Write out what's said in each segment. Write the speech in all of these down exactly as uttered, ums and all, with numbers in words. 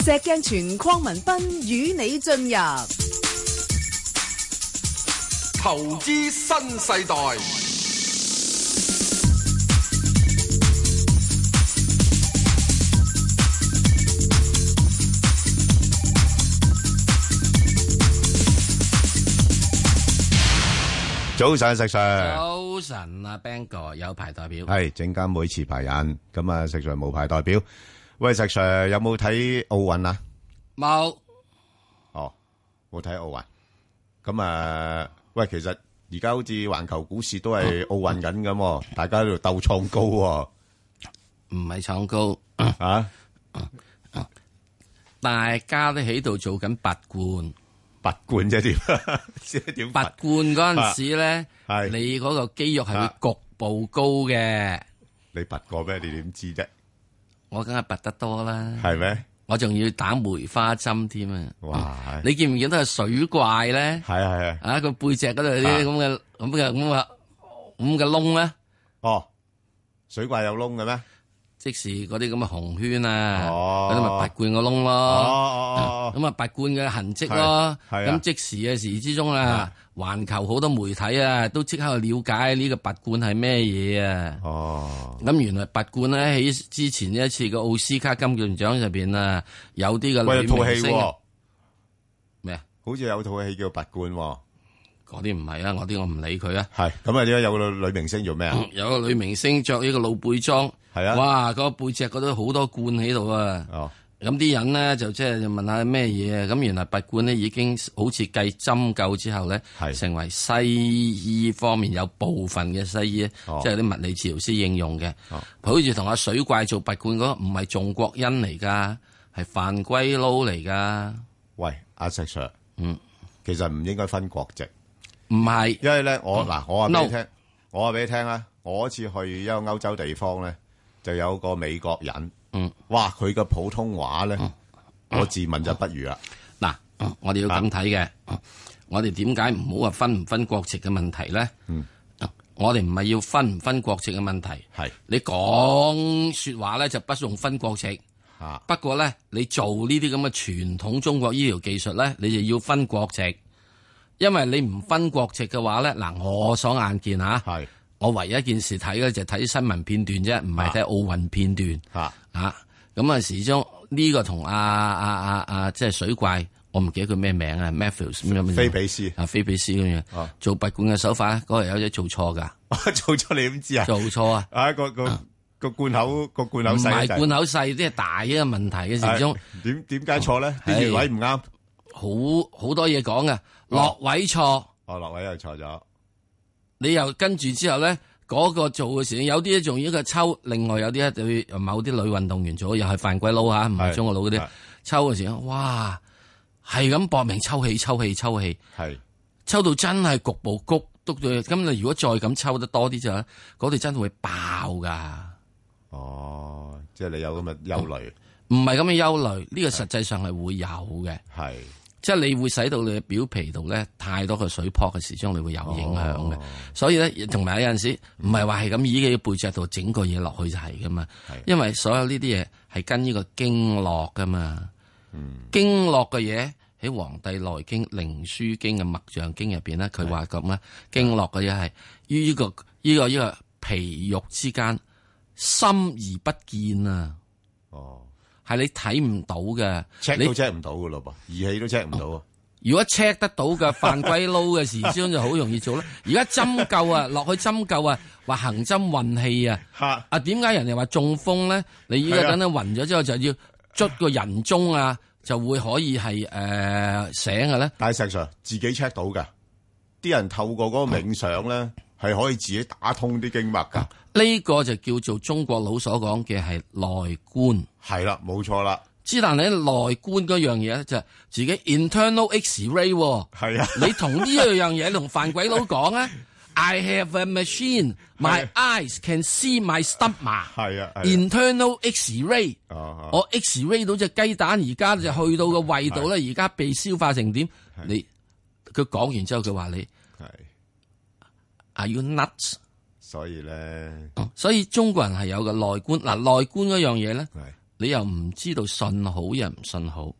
石鏡泉鄺民彬與你進入投資新世代。 早晨，石 Sir。 早晨啊 ，Bang 哥有牌代表係證監會持牌人，咁啊，石 Sir 無牌代表。喂，石 Sir 有冇睇奧運啊？ 冇。 哦，冇睇奧運。咁啊，喂，其實而家好似環球股市都係奧運緊咁，大家喺度鬥創高喎。 唔係創高啊！ 大家都喺度做緊拔罐。 拔罐啫點？點拔罐嗰陣時咧，你嗰個肌肉係會局部高嘅。 你拔過咩？你點知啫？ 我梗係拔得多啦。 係咩？ 我仲要打梅花針添啊！ 哇！ 你見唔見到係水怪咧？ 係啊係啊！ 啊，個背脊嗰度有啲咁嘅咁嘅咁嘅咁嘅窿咧。 哦，水怪有窿嘅咩？ 即是嗰啲咁嘅紅圈啊， 嗰啲咪拔罐個窿咯，咁啊拔罐嘅痕跡咯，咁即時嘅時之中啊，環球好多媒體啊都即刻去了解呢個拔罐係咩嘢啊，咁原來拔罐咧喺之前一次嘅奧斯卡金像獎入邊啊，有啲嘅女明星咩啊？ 好似有套戲叫拔罐。 嗰啲唔係啊，我啲我唔理佢啊。 係咁啊！點解有個女明星做咩啊？ 有個女明星着呢個露背裝， 係啊！ 哇，個背脊嗰度好多罐喺度啊！ 哦， 咁啲人咧就即係問下咩嘢啊？咁原來拔罐咧已經好似繼針灸之後咧，成為西醫方面有部分嘅西醫， 哦、 即係啲物理治療師應用嘅。 哦、 好似同阿水怪做拔罐嗰個唔係仲國恩嚟噶，係犯龜撈嚟噶。 喂，阿石 Sir， 嗯， 其實唔應該分國籍。 唔係， 因為咧，我嗱，我話俾你聽， no. 我話俾你聽啦。我一次去一個歐洲地方咧，就有個美國人， 嗯， 哇，佢嘅普通話咧， 嗯、 我自問就不如啦。 嗱、嗯，我哋要咁睇嘅， 啊、 我哋點解唔好話分唔分國籍嘅問題咧？ 嗯， 我哋唔係要分唔分國籍嘅問題， 係你講說話咧就不用分國籍， 啊， 不過咧你做呢啲咁嘅傳統中國醫療技術咧，你就要分國籍。因為你唔分國籍嘅話咧，嗱，我所眼見吓，係我唯一一件事睇嘅就睇新聞片段啫，唔係睇奧運片段吓啊。咁啊，始終呢個同阿阿阿阿即係水怪，我唔記得佢咩名啊 ，Matthews 咁樣。 菲比斯啊，菲比斯咁樣，啊、做拔罐嘅手法咧，嗰日有隻做錯噶， 做錯你點知啊？ 做錯啊！ 啊，個個個罐口個罐口細， 唔係罐口細，即係大一個問題嘅始終。 點點解錯咧？啲穴位唔啱。 好好多嘢講嘅，落位錯， 哦，落位又錯咗。 你又跟住之後咧，嗰、那個做嘅時候，有啲咧仲要一個抽，另外有啲咧對某啲女運動員做，又係犯鬼佬吓，唔係中國佬嗰啲抽嘅時候，哇，係咁搏命抽氣、抽氣、抽氣，係抽到真係局部谷篤到，咁你如果再咁抽得多啲就，嗰度真係會爆噶。 哦，即係你有咁嘅憂慮， 唔係咁嘅憂慮，呢、這個實際上係會有嘅，係。即係你會使到你嘅表皮度咧太多嘅水泡嘅時鐘，你會有影響嘅。哦、所以咧，同埋有陣時唔係話係咁依嘅背脊度整個嘢落去就係噶嘛。因為所有呢啲嘢係跟呢個經絡噶嘛。嗯、經絡嘅嘢喺《黃帝內經》《靈樞經》嘅《脈象經》入邊咧，佢話咁啦，經絡嘅嘢係於呢個呢、呢個呢、呢個皮肉之間深而不見啊。哦。係你睇唔到嘅 ，check 都 check 唔到噶咯噃，儀器都 check 唔到啊！ 如果 check 得到嘅犯鬼撈嘅時鐘就好容易做啦。而家針灸啊，落去針灸啊，話行針運氣啊，啊點解人哋話中風咧？你依家等等暈咗之後就要捽個人中啊，就會可以係誒、呃、醒嘅咧。 但係石 Sir 自己 check 到噶，啲人透過嗰個冥想咧，係、嗯、可以自己打通啲經脈噶。呢、 嗯這個就叫做中國佬所講嘅係內觀。 係啦，冇錯啦。 之但你內觀嗰樣嘢咧，就係自己 internal X-ray。係啊，你同呢一樣嘢同犯鬼佬講啊 ，I have a machine, my eyes can see my stomach。係啊 ，internal X-ray。我 X-ray 到隻雞蛋，而家就去到個胃度咧，而家被消化成點？你佢講完之後，佢話你係 Are you nuts？所以咧，所以中國人係有個內觀嗱，內觀嗰樣嘢咧。 你又唔知道信好又唔信好。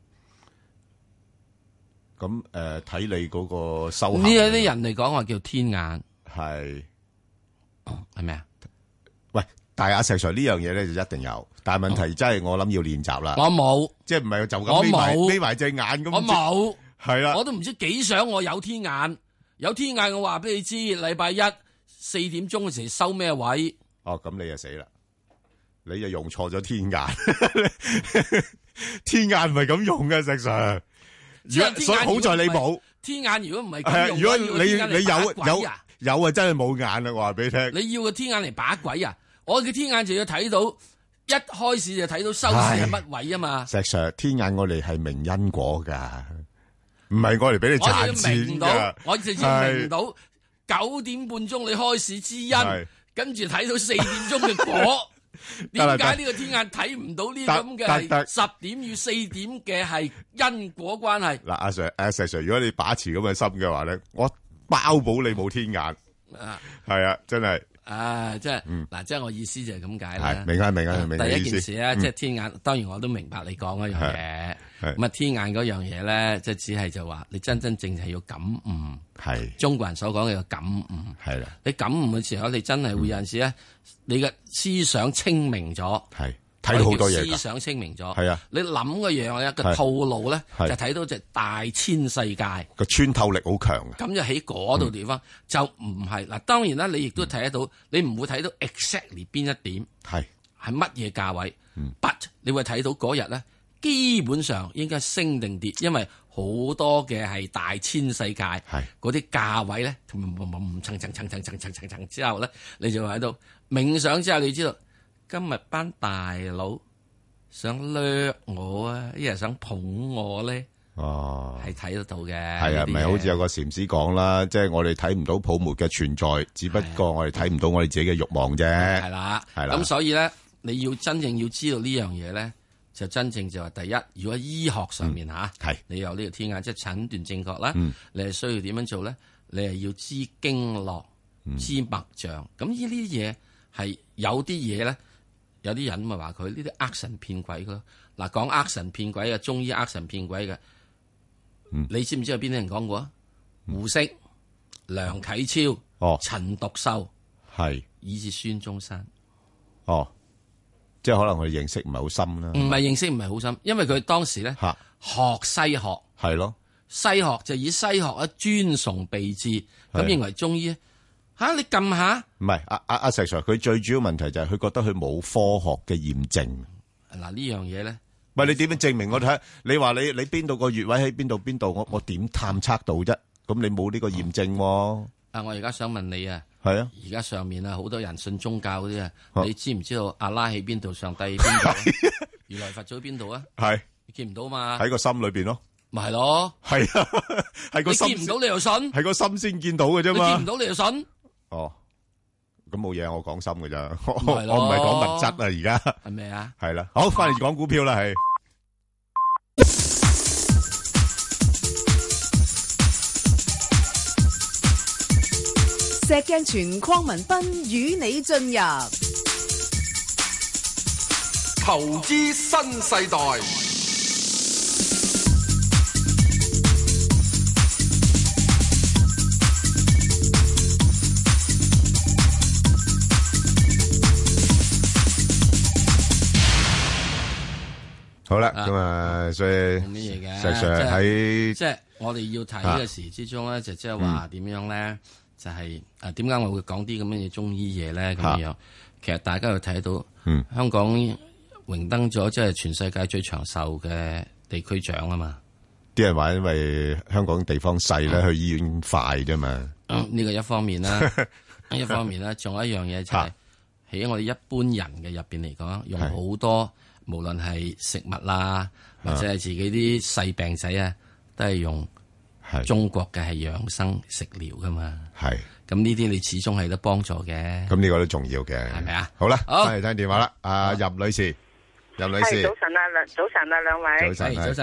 咁誒睇你嗰個收呢有啲人嚟講話叫天眼， 係係咩啊？ 喂，但係阿石 Sir 呢樣嘢咧就一定有，但係問題真係我諗要練習啦。 我冇， 即係唔係就咁眯埋眯埋隻眼咁。 我冇， 係啦， 我都唔知幾想我有天眼，有天眼我話俾你知，禮拜一四點鐘嘅時收咩位？ 哦，咁你就死啦！你就用錯咗天眼，天眼唔係咁用嘅，石 Sir。所以好在你冇天眼，如果唔係咁用， 如果你你有有啊有啊，真係冇眼啦！我話俾你聽， 你要個天眼嚟把鬼啊！我嘅天眼就要睇到一開始就睇到收市係乜位啊嘛！ 石 Sir， 天眼我哋係明因果噶，唔係我嚟俾你賺錢噶。 我直接明到九點半鐘你開市之因，跟住睇到四點鐘嘅果。點解呢個天眼睇唔到呢咁嘅係十點與四點嘅係因果關係？ 嗱，阿 Sir， 阿石 Sir， 如果你把持咁嘅心嘅話咧，我包保你冇天眼。啊，係啊，真係。啊， 即係嗱，即係我意思就係咁解啦。 明啊，明啊，明。 第一件事咧，即係天眼，當然我都明白你講嗰樣嘢。咁啊，天眼嗰樣嘢咧，即係只係就話你真真正係要感悟。係中國人所講嘅個感悟。係啦，你感悟嘅時候，你真係會有陣時咧，你嘅思想清明咗。係睇到好多嘢。思想清明咗。係啊，你諗嘅樣咧，個套路咧，就睇到隻大千世界。個穿透力好強。咁就喺嗰度地方就唔係嗱，當然啦，你亦都睇得到，你唔會睇到 exactly 邊一點係係乜嘢價位。But 你會睇到嗰日咧。基本上應該升定跌，因為好多嘅係大千世界，嗰啲價位咧，層層層層層層層層之後咧，你就喺度冥想之後，你知道今日班大佬想掠我啊，一係想捧我咧，哦，係睇得到嘅。係啊，咪好似有個禪師講啦，即係我哋睇唔到泡沫嘅存在，只不過我哋睇唔到我哋自己嘅慾望啫。係啦，係啦。咁所以咧，你要真正要知道呢樣嘢咧。就真正就話第一，如果醫學上面吓，係、嗯、你有呢個天眼，即係診斷正確啦。嗯、你係需要點樣做咧？你係要知經絡、嗯、知脈象。咁呢啲嘢係有啲嘢咧，有啲人咪話佢呢啲呃神騙鬼咯。嗱，講呃神騙鬼嘅中醫呃神騙鬼嘅，嗯、你知唔知有邊啲人講過啊？胡適、梁啟超、哦、陳獨秀，係是以至孫中山。哦。即係可能佢認識唔係好深啦，唔係認識唔係好深，因為佢當時咧學西學係咯，西學就以西學啊尊崇備至，咁認為中醫吓你撳下，唔係阿阿阿石 Sir， 佢最主要問題就係佢覺得佢冇科學嘅驗證。嗱呢樣嘢咧，喂你點樣證明我睇？你話你你邊度個穴位喺邊度邊度？我我點探測到啫？咁你冇呢個驗證。啊，我而家想問你啊。係啊！而家上面啊，好多人信宗教嗰啲啊，你知唔知道阿拉喺邊度，上帝喺邊度，如來佛祖喺邊度啊？係你見唔到嘛？喺個心裏邊咯，咪係咯？係啊，係個心。你見唔到你又信？係個心先見到嘅啫嘛。你見唔到你又信？哦，咁冇嘢，我講心嘅咋，我我唔係講物質啊，而家係咩啊？係啦，好，翻嚟講股票啦，係。 石鏡泉鄺民彬與你進入投資新世代。 好啦，咁啊，所以冇乜嘢嘅， 石 Sir 喺即係我哋要睇嘅時之中咧，就即係話點樣咧？就係誒點解我會講啲咁嘅嘢中醫嘢咧？咁樣、啊、其實大家又睇到，嗯、香港榮登咗即係全世界最長壽嘅地區長啊嘛！ 啲人話因為香港地方細咧，嗯、去醫院快啫嘛。呢、 嗯呢個一方面啦，一方面啦，仲有一樣嘢就係、是、喺、啊、我哋一般人嘅入邊嚟講，用好多是無論係食物啦，或者係自己啲細病仔啊，都係用。係中國嘅係養生食療噶嘛，係咁呢啲你始終係得幫助嘅， 咁呢個都重要嘅，係咪啊？好啦，翻嚟聽電話啦，阿任女士，任女士， 早晨啊，兩早晨啊，兩位， 早晨，早晨，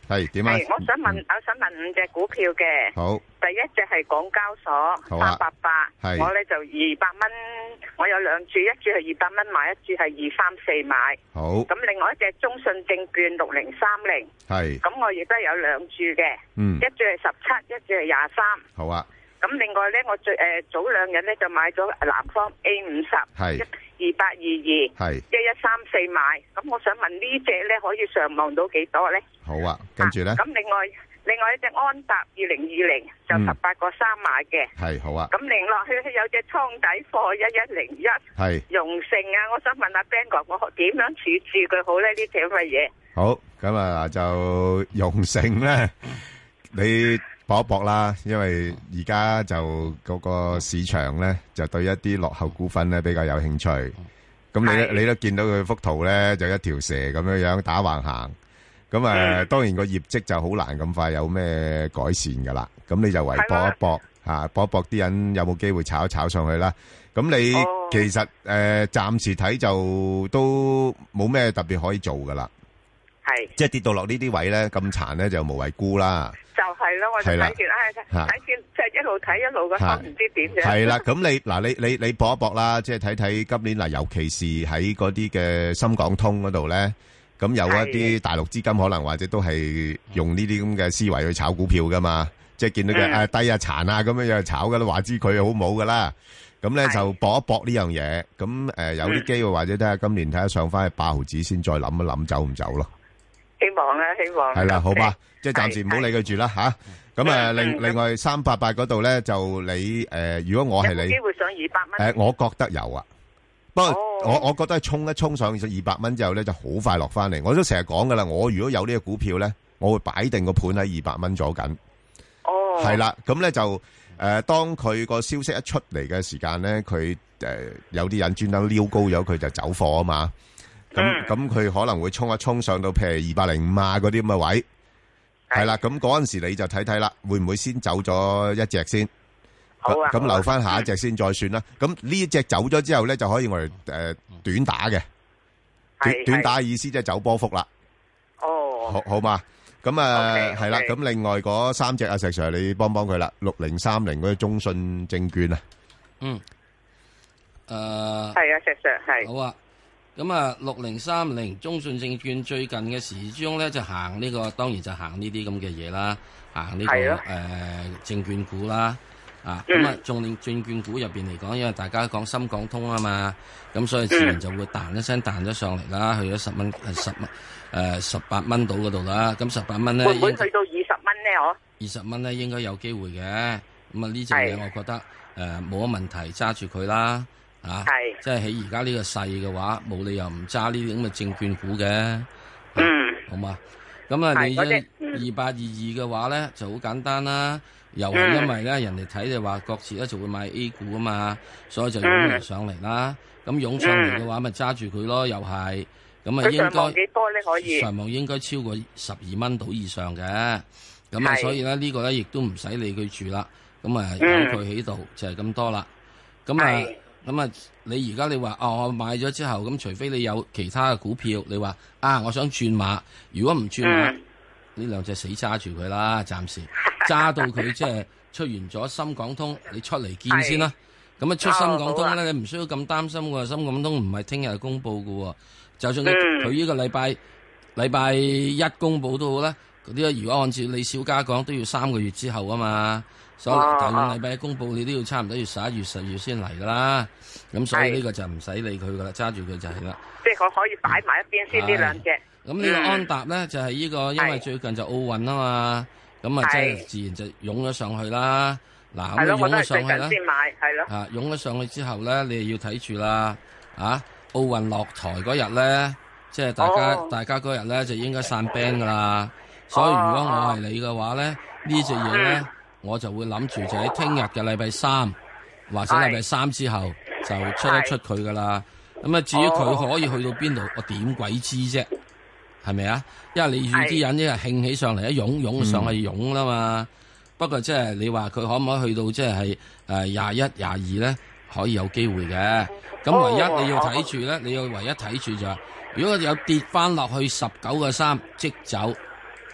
係點啊？ 係，我想問，我想問五隻股票嘅。 好。 第一隻係港交所三八八，我咧就二百蚊，我有兩注，一注係二百蚊買，一注係二三四買。好。咁另外一隻中信證券六零三零，係。咁我亦都有兩注嘅，嗯，一注係十七，一注係廿三。好啊。咁另外咧，我最誒、呃、早兩日咧就買咗南方 A 五十，係二八二二，係一一三四買。咁我想問呢隻咧可以上望到幾多咧？好啊，跟住咧。咁、啊、另外另外一隻安踏二零二零就十八個三買嘅，係、嗯、好啊。咁另落去有隻倉底貨一一零一，係榮盛啊。我想問阿 Ben 哥，我點樣處置佢好咧？呢隻乜嘢？好，咁啊就榮盛咧，你。搏一搏啦，因為而家就嗰個市場咧，就對一啲落後股份咧比較有興趣。咁你你都見到佢幅圖咧，就一條蛇咁樣樣打橫行。咁啊、呃，當然個業績就好難咁快有咩改善噶啦。咁你就唯搏一搏嚇，搏一搏啲人有冇機會炒一炒上去啦。咁你其實誒、呃、暫時睇就都冇咩特別可以做噶啦。係，即係跌到落呢啲位咧咁殘咧，就無謂沽啦。就係咯，我就睇見，唉，睇見即係一路睇一路個心唔知點樣。係啦，咁你嗱，你你你搏一搏啦，即係睇睇今年嗱，尤其是喺嗰啲嘅深港通嗰度咧，咁有一啲大陸資金可能或者都係用呢啲咁嘅思維去炒股票噶嘛，即係見到佢誒低啊殘啊咁樣樣炒噶啦，話知佢好冇噶啦，咁咧就搏一搏呢樣嘢，咁誒有啲機會或者睇下今年睇下上翻去八毫子先再諗一諗走唔走咯。希望啦，希望係啦，好吧，即係暫時唔好理佢住啦吓。咁啊，另另外三八八嗰度咧，就你誒，如果我係你，有冇機會上二百蚊？誒，我覺得有啊。不過我我覺得係衝一衝上二百蚊之後咧，就好快落翻嚟。我都成日講噶啦，我如果有呢個股票咧，我會擺定個盤喺二百蚊左緊。哦，係啦，咁咧就誒，當佢個消息一出嚟嘅時間咧，佢誒有啲人專登撩高咗佢就走貨啊嘛。咁咁佢可能會衝一衝上到譬如二百零五啊嗰啲咁嘅位，係啦，咁嗰陣時你就睇睇啦，會唔會先走咗一隻先？好啊，咁留翻下一隻先再算啦。咁呢一隻走咗之後咧，就可以我哋誒短打嘅，短短打嘅意思即係走波幅啦。哦，好好嘛，咁啊係啦，咁另外嗰三隻阿石 Sir 你幫幫佢啦，六零三零嗰啲中信證券啊，嗯，誒，係啊，石 Sir 係，好啊。咁啊，六零三零中信證券最近嘅時鐘咧就行呢、這個，當然就行呢啲咁嘅嘢啦，行呢、這個誒、呃、證券股啦，啊咁啊，重點證券股入邊嚟講，因為大家講深港通啊嘛，咁所以自然就會彈一聲彈咗上嚟啦，去咗十蚊係十蚊誒十八蚊到嗰度啦，咁十八蚊咧會唔會去到二十蚊咧？我二十蚊咧應該有機會嘅，咁啊呢隻嘢我覺得誒冇乜問題，揸住佢啦。啊，係，即係喺而家呢個勢嘅話，冇理由唔揸呢啲咁嘅證券股嘅，嗯，好嘛？咁啊，你二八二二嘅話咧就好簡單啦，又係因為咧人哋睇就話各自咧就會買 A 股啊嘛，所以就湧嚟上嚟啦。咁湧上嚟嘅話，咪揸住佢咯，又係，咁啊應該上望幾多咧？可以上望應該超過十二蚊到以上嘅，咁啊，所以咧呢個咧亦都唔使理佢住啦，咁啊由佢喺度就係咁多啦，咁啊。咁啊，你而家你話哦，我買咗之後，咁除非你有其他嘅股票，你話啊，我想轉馬，如果唔轉馬，呢、嗯、兩隻死揸住佢啦，暫時揸到佢即係出完咗深港通，你出嚟見先啦。咁啊出深港通咧，你唔需要咁擔心喎。深港通唔係聽日公布嘅，就算佢佢呢個禮拜禮拜一公布都好啦。嗰啲如果按照李小加講，都要三個月之後啊嘛。所以大兩禮拜一公布，你都要差唔多要十一月、十月先嚟噶啦。咁所以呢個就唔使理佢噶啦，揸住佢就係啦。即係我可以擺埋一邊先呢兩隻。咁呢個安踏咧就係呢個，因為最近就奧運啊嘛，咁啊即係自然就湧咗上去啦。嗱咁湧咗上去啦。先買係咯。啊，湧咗上去之後咧，你又要睇住啦。啊，奧運落台嗰日咧，即係大家大家嗰日咧就應該散 band 噶啦。所以如果我係你嘅話咧，呢隻嘢咧。我就會諗住就喺聽日嘅禮拜三或者禮拜三之後就出一出佢噶啦。咁啊，至於佢可以去到邊度，我點鬼知啫？係咪啊？因為你預啲人一係興起上嚟，一湧湧上去湧啦嘛。不過即係你話佢可唔可以去到即係誒廿一、廿二咧？可以有機會嘅。咁唯一你要睇住咧，你要唯一睇住就係，如果有跌翻落去十九個三即走。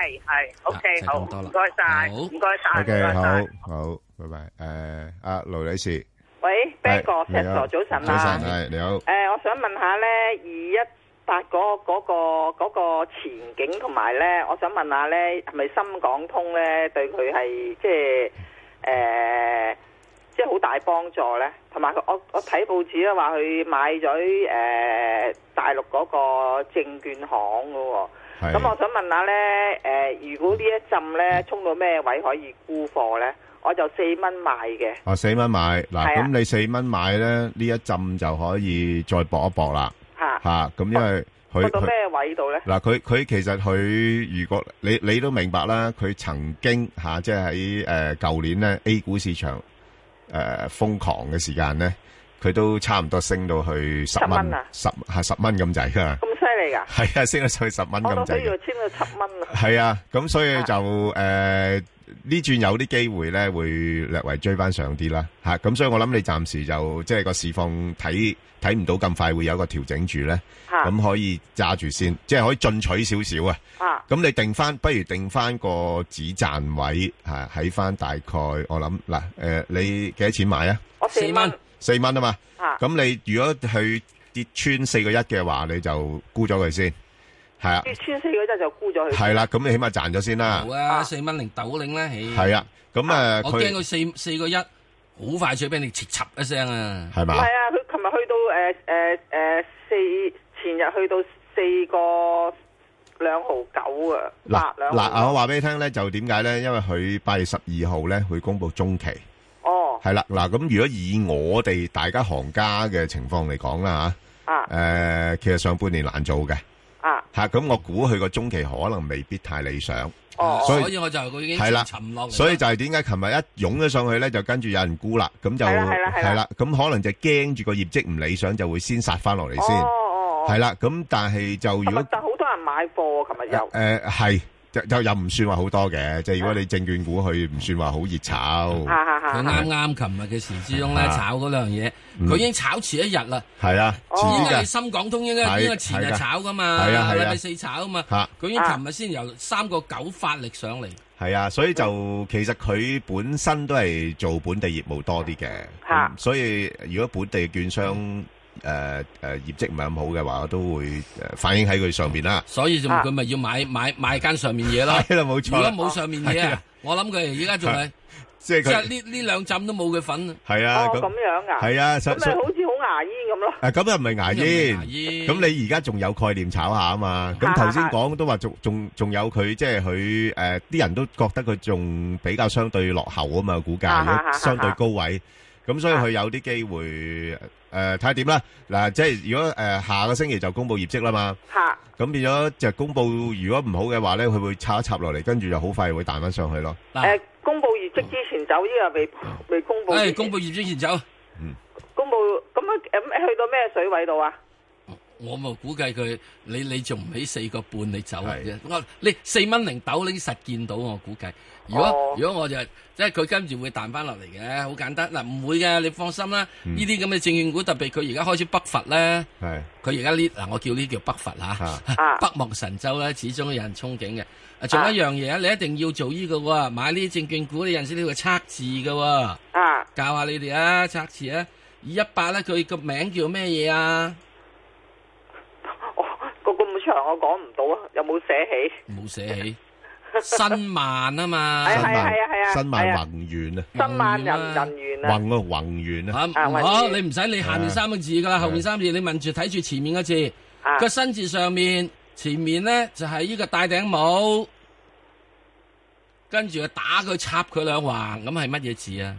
係係，OK，好，唔該晒，唔該晒，唔該 OK， 晒， 好好，拜拜。誒，阿盧女士， 喂 ，Ben 哥，石 Sir，早晨啊， 早晨，係你好。 誒，我想問下咧，二一八嗰嗰個嗰個前景同埋咧，我想問下咧，係咪深港通咧對佢係即係誒，即係好大幫助咧？同埋我我睇報紙咧話佢買咗誒大陸嗰個證券行噶喎。咁我想問下咧，誒、呃，如果呢一陣咧衝到咩位可以沽貨咧？我就四蚊買嘅。哦， 四蚊買嗱，咁、啊、你四蚊買咧，呢一陣就可以再搏一搏啦。吓吓、啊，咁、啊、因為佢到咩位度咧？嗱， 佢佢其實佢如果你你都明白啦，佢曾經吓、啊，即係喺誒舊年咧 A 股市場誒瘋、呃、狂嘅時間咧，佢都差唔多升到去十蚊啊，十係十蚊咁滯噶。係啊，升咗上去十蚊咁滯。我都要簽到七蚊啊。係啊，咁所以就誒呢轉有啲機會咧，會略為追翻上啲啦。吓，咁所以我諗你暫時就即係個市況睇睇唔到咁快會有一個調整住咧。咁可以揸住先，即係可以進取少少啊。啊，咁你定翻，不如定翻個止賺位吓，喺翻大概我諗嗱誒，你幾多錢買啊？ 我四蚊， 四蚊啊嘛。啊，咁你如果去跌穿四個一嘅話，你就沽咗佢先，係啊。 跌穿四個一就沽咗佢。係啦，咁你起碼賺咗先啦。 好啊，四蚊零豆領咧，起。 係啊，咁誒， 我驚佢四四個一，好快脆俾你切插一聲啊。 係嘛？ 係啊，佢琴日去到誒誒誒四，前日去到四個兩毫九啊。 嗱嗱，我話俾你聽咧，就點解咧？因為佢八月十二號咧會公布中期。 哦。係啦， 嗱，咁如果以我哋大家行家嘅情況嚟講啦吓。啊！誒、呃，其實上半年難做嘅，啊，吓咁、啊、我估佢個中期可能未必太理想， 哦， 所以， 所以我就佢已經係啦沉落嚟， 所以就係點解琴日一湧咗上去咧，就跟住有人沽啦，咁就係啦，咁可能就驚住個業績唔理想，就會先殺翻落嚟先，哦哦，係啦，咁但係就如果但好多人買貨，琴日又誒係。就就又唔算話好多嘅，即係如果你證券股佢唔算話好熱炒， 佢啱啱琴日嘅時之中咧炒嗰兩樣嘢，佢已經炒遲一日啦。 係啊， 應該係深港通應該應該前日炒噶嘛，禮拜四炒啊嘛。佢已經琴日先由三個九發力上嚟。 係啊，所以就其實佢本身都係做本地業務多啲嘅，所以如果本地券商誒誒業績唔係咁好嘅話，我都會誒反映喺佢上邊啦。所以就佢咪要買買買間上面嘢咯。係啦，冇錯。如果冇上面嘢啊，我諗佢而家仲係即係即係呢呢兩浸都冇佢份。係啊，咁樣噶。係啊，咁咪好似好牙煙咁咯。誒，咁又唔係牙煙。牙煙。咁你而家仲有概念炒下啊嘛？咁頭先講都話仲仲仲有佢，即係佢誒啲人都覺得佢仲比較相對落後啊嘛，股價如果相對高位。咁所以佢有啲機會誒睇下點啦。嗱，即係如果誒下個星期就公布業績啦嘛，咁變咗就公布如果唔好嘅話咧，佢會插一插落嚟，跟住就好快會彈翻上去咯。誒，公布業績之前走，依個未未公布。誒，公布業績前走。嗯。公布咁啊？咁去到咩水位度啊？我咪估計佢，你你仲唔起四個半你走啫？我你四蚊零豆你實見到我估計。如果、哦、如果我就即係佢跟住會彈翻落嚟嘅，好簡單嗱，唔會嘅，你放心啦。呢啲咁嘅證券股，特別佢而家開始北伐咧，佢而家呢嗱，我叫呢叫北伐吓，啊、北望神州咧，始終有人憧憬嘅。仲有一樣嘢啊，你一定要做呢、這個喎，買呢啲證券股，你有陣時你要測字嘅，啊，教下你哋啊，測字啊，二一八咧，佢個名叫咩嘢啊？哦，個咁長我講唔到啊，有冇寫起？冇寫起。新萬啊嘛，係係係啊，新萬宏源啊，新萬人人源啊，宏啊宏源啊，好，你唔使理下面三個字噶啦，後面三個字你問住睇住前面個字，個新字上面前面咧就係呢個戴頂帽，跟住啊打佢插佢兩橫，咁係乜嘢字啊？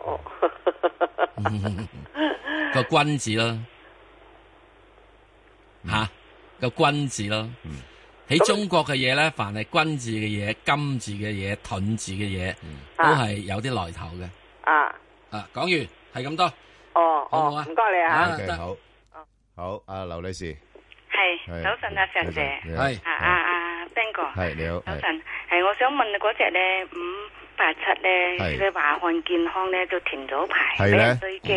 個君字咯，吓個君字咯。喺中國嘅嘢咧，凡係君字嘅嘢、金字嘅嘢、盾字嘅嘢，都係有啲來頭嘅。啊啊，講完係咁多。哦哦，唔該你啊。得好。好，阿劉女士。係早晨啊，石姐。係啊啊啊 ，Ben 哥。係你好。早晨，係我想問嗰隻咧五八七咧，佢華漢健康咧都停咗牌，俾人追擊。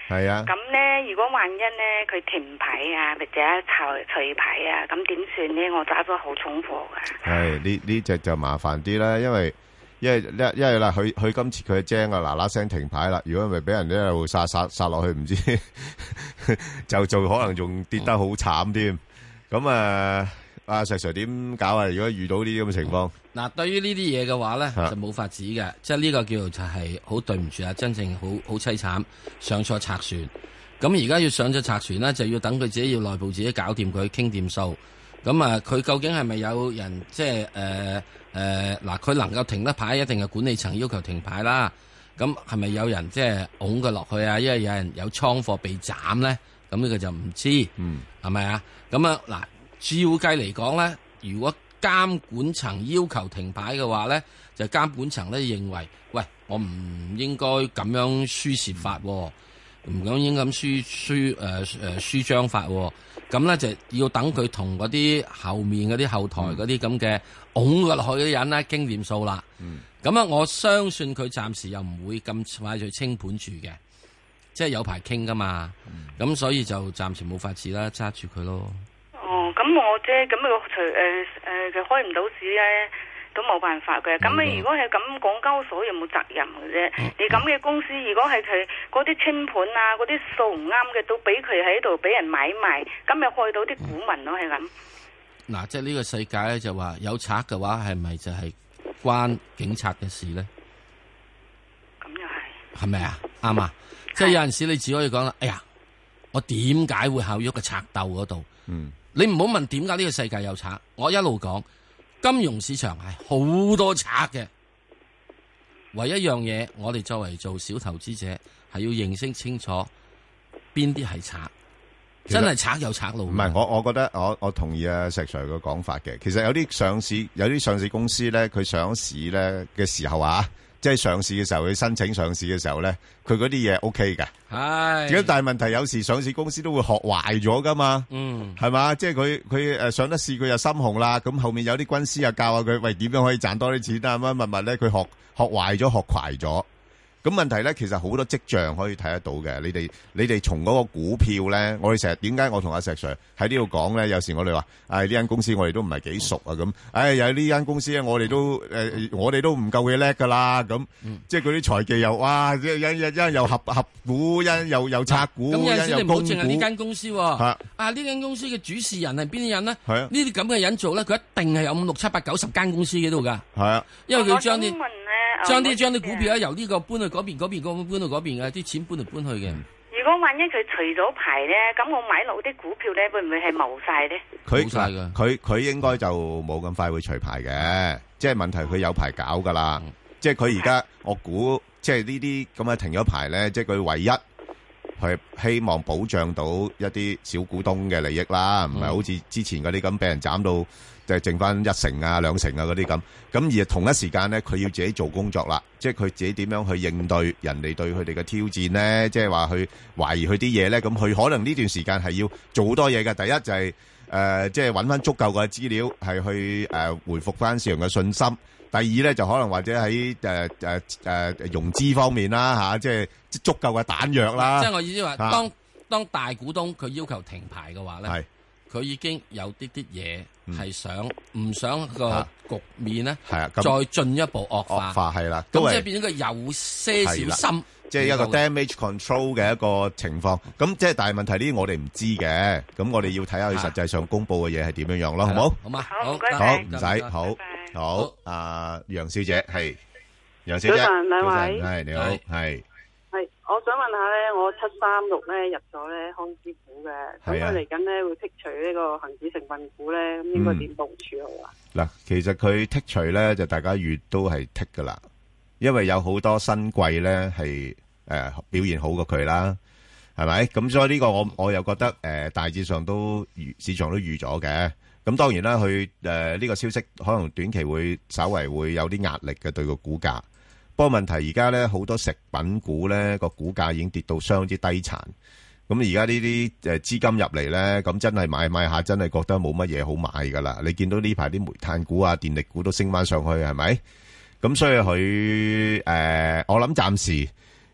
係啊。 咁咧，如果萬一咧佢停牌啊，或者除除牌啊，咁點算咧？我揸咗好重貨噶。 係呢呢隻就麻煩啲啦，因為因為因為啦，佢佢今次佢精啊，嗱嗱聲停牌啦。如果咪俾人一路殺殺殺落去，唔知就就可能仲跌得好慘添。咁啊。阿石 Sir 點搞啊？如果遇到呢啲咁嘅情況， 嗱，對於呢啲嘢嘅話咧，就冇法子嘅，即係呢個叫做就係好對唔住啊，真正好好凄慘，上錯賊船。咁而家要上咗賊船咧，就要等佢自己要內部自己搞掂佢，傾掂數。咁啊，佢究竟係咪有人即係誒誒嗱？佢能夠停得牌，一定係管理層要求停牌啦。咁係咪有人即係拱佢落去啊？因為有人有倉貨被斬咧，咁呢個就唔知，嗯，係咪啊？咁啊嗱。照計嚟講咧，如果監管層要求停牌嘅話咧，就監管層咧認為，喂，我唔應該咁樣輸蝕法，唔咁應該咁輸輸誒誒輸張法，咁咧就要等佢同嗰啲後面嗰啲後台嗰啲咁嘅拱佢落去嘅人咧經驗數啦。咁啊、嗯，我相信佢暫時又唔會咁快去清盤住嘅，即係有排傾噶嘛。咁、嗯、所以就暫時冇法子啦，揸住佢咯。 哦，咁我啫，咁佢除誒誒佢開唔到市咧，都冇辦法嘅。咁你如果係咁，港交所有冇責任嘅啫？嗯、你咁嘅公司，如果係佢嗰啲清盤啊，嗰啲數唔啱嘅，都俾佢喺度俾人買賣，咁咪害到啲股民咯，係咁。嗱、 嗯，即係呢個世界咧，就話有賊嘅話，係咪就係關警察嘅事咧？ 咁又係。係咪啊？啱啊！即係有陣時你只可以講啦，哎呀，我點解會考喐個賊鬥嗰度？嗯。你唔好問點解呢個世界有賊，我一路講金融市場係好多賊嘅，唯一樣嘢我哋作為做小投資者係要認識清楚邊啲係賊，真係賊有賊路。 唔係，我我覺得我我同意阿石 Sir 嘅講法嘅。其實有啲上市有啲上市公司咧，佢上市咧嘅時候啊。即係上市嘅時候，佢申請上市嘅時候咧，佢嗰啲嘢 O K 嘅。係。咁但係問題有時上市公司都會學壞咗噶嘛。嗯。係嘛？即係佢佢誒上得市，佢又心紅啦。咁後面有啲軍師又教下佢，喂，點樣可以賺多啲錢啊？乜乜乜咧？佢學學壞咗，學壞咗。咁問題咧，其實好多跡象可以睇得到嘅。你哋你哋從嗰個股票咧，我哋成日點解我同阿石 Sir 喺呢度講咧？有時我哋話，誒呢間公司我哋都唔係幾熟啊咁。誒有呢間公司咧，我哋都誒我哋都唔夠佢叻噶啦。咁即係嗰啲財技又哇，一一一又合合股，一又又拆股， 咁有陣時你唔好淨係呢間公司喎。啊啊！呢間公司嘅主事人係邊啲人咧？ 係啊。 呢啲咁嘅人做咧，佢一定係有五六七八九十間公司喺度㗎。 係啊。 因為佢將啲。將啲將啲股票咧由呢個搬去嗰邊，嗰邊嗰搬到嗰邊嘅，啲錢搬嚟搬去嘅。 如果萬一佢除咗牌咧，咁我買落啲股票咧，會唔會係冇晒咧？ 冇晒噶，佢佢應該就冇咁快會除牌嘅，即係問題佢有牌搞噶啦。嗯、即係佢而家我估，即係呢啲咁嘅停咗牌咧，即係佢唯一係希望保障到一啲小股東嘅利益啦，唔係、嗯、好似之前嗰啲咁俾人斬到。就係剩翻一成啊、兩成啊嗰啲咁，咁而同一時間咧，佢要自己做工作啦，即係佢自己點樣去應對人哋對佢哋嘅挑戰咧？即係話去懷疑佢啲嘢咧，咁佢可能呢段時間係要做好多嘢嘅。第一就係、是、誒、呃，即係揾翻足夠嘅資料，係去誒、呃、回復翻市場嘅信心。第二咧就可能或者喺誒誒誒融資方面啦嚇、啊，即係足夠嘅彈藥啦。 即係我意思話，當、啊、當大股東佢要求停牌嘅話咧。係。佢已經有啲啲嘢係想唔、嗯、想個局面咧，係啊，再進一步惡化，惡化係啦，咁即係變咗個有些少心， 即係一個 damage control 嘅一個情況。咁即係但係問題呢啲我哋唔知嘅，咁我哋要睇下佢實際上公佈嘅嘢係點樣樣咯，好冇？ 好嘛， 好唔該好唔使，好好。阿楊小姐係楊小姐， 早晨兩位， 係你好，係。 係，我想問下咧，我七三六咧入咗咧康師傅嘅，咁佢嚟緊咧會剔除呢個恒指成分股咧，咁應該點部署好啊？嗱、嗯， 其實佢剔除咧就大家預都係剔噶啦，因為有好多新貴咧係誒表現好過佢啦，係咪？咁所以呢個我我又覺得誒、呃、大致上都預市場都預咗嘅。咁當然啦，佢誒呢個消息可能短期會稍為會有啲壓力嘅對個股價。不過問題而家咧好多食品股咧個股價已經跌到相當之低殘，咁而家呢啲誒資金入嚟咧，咁真係買買下真係覺得冇乜嘢好買噶啦。你見到呢排啲煤炭股啊、電力股都升翻上去，係咪？咁所以佢誒、呃，我諗暫時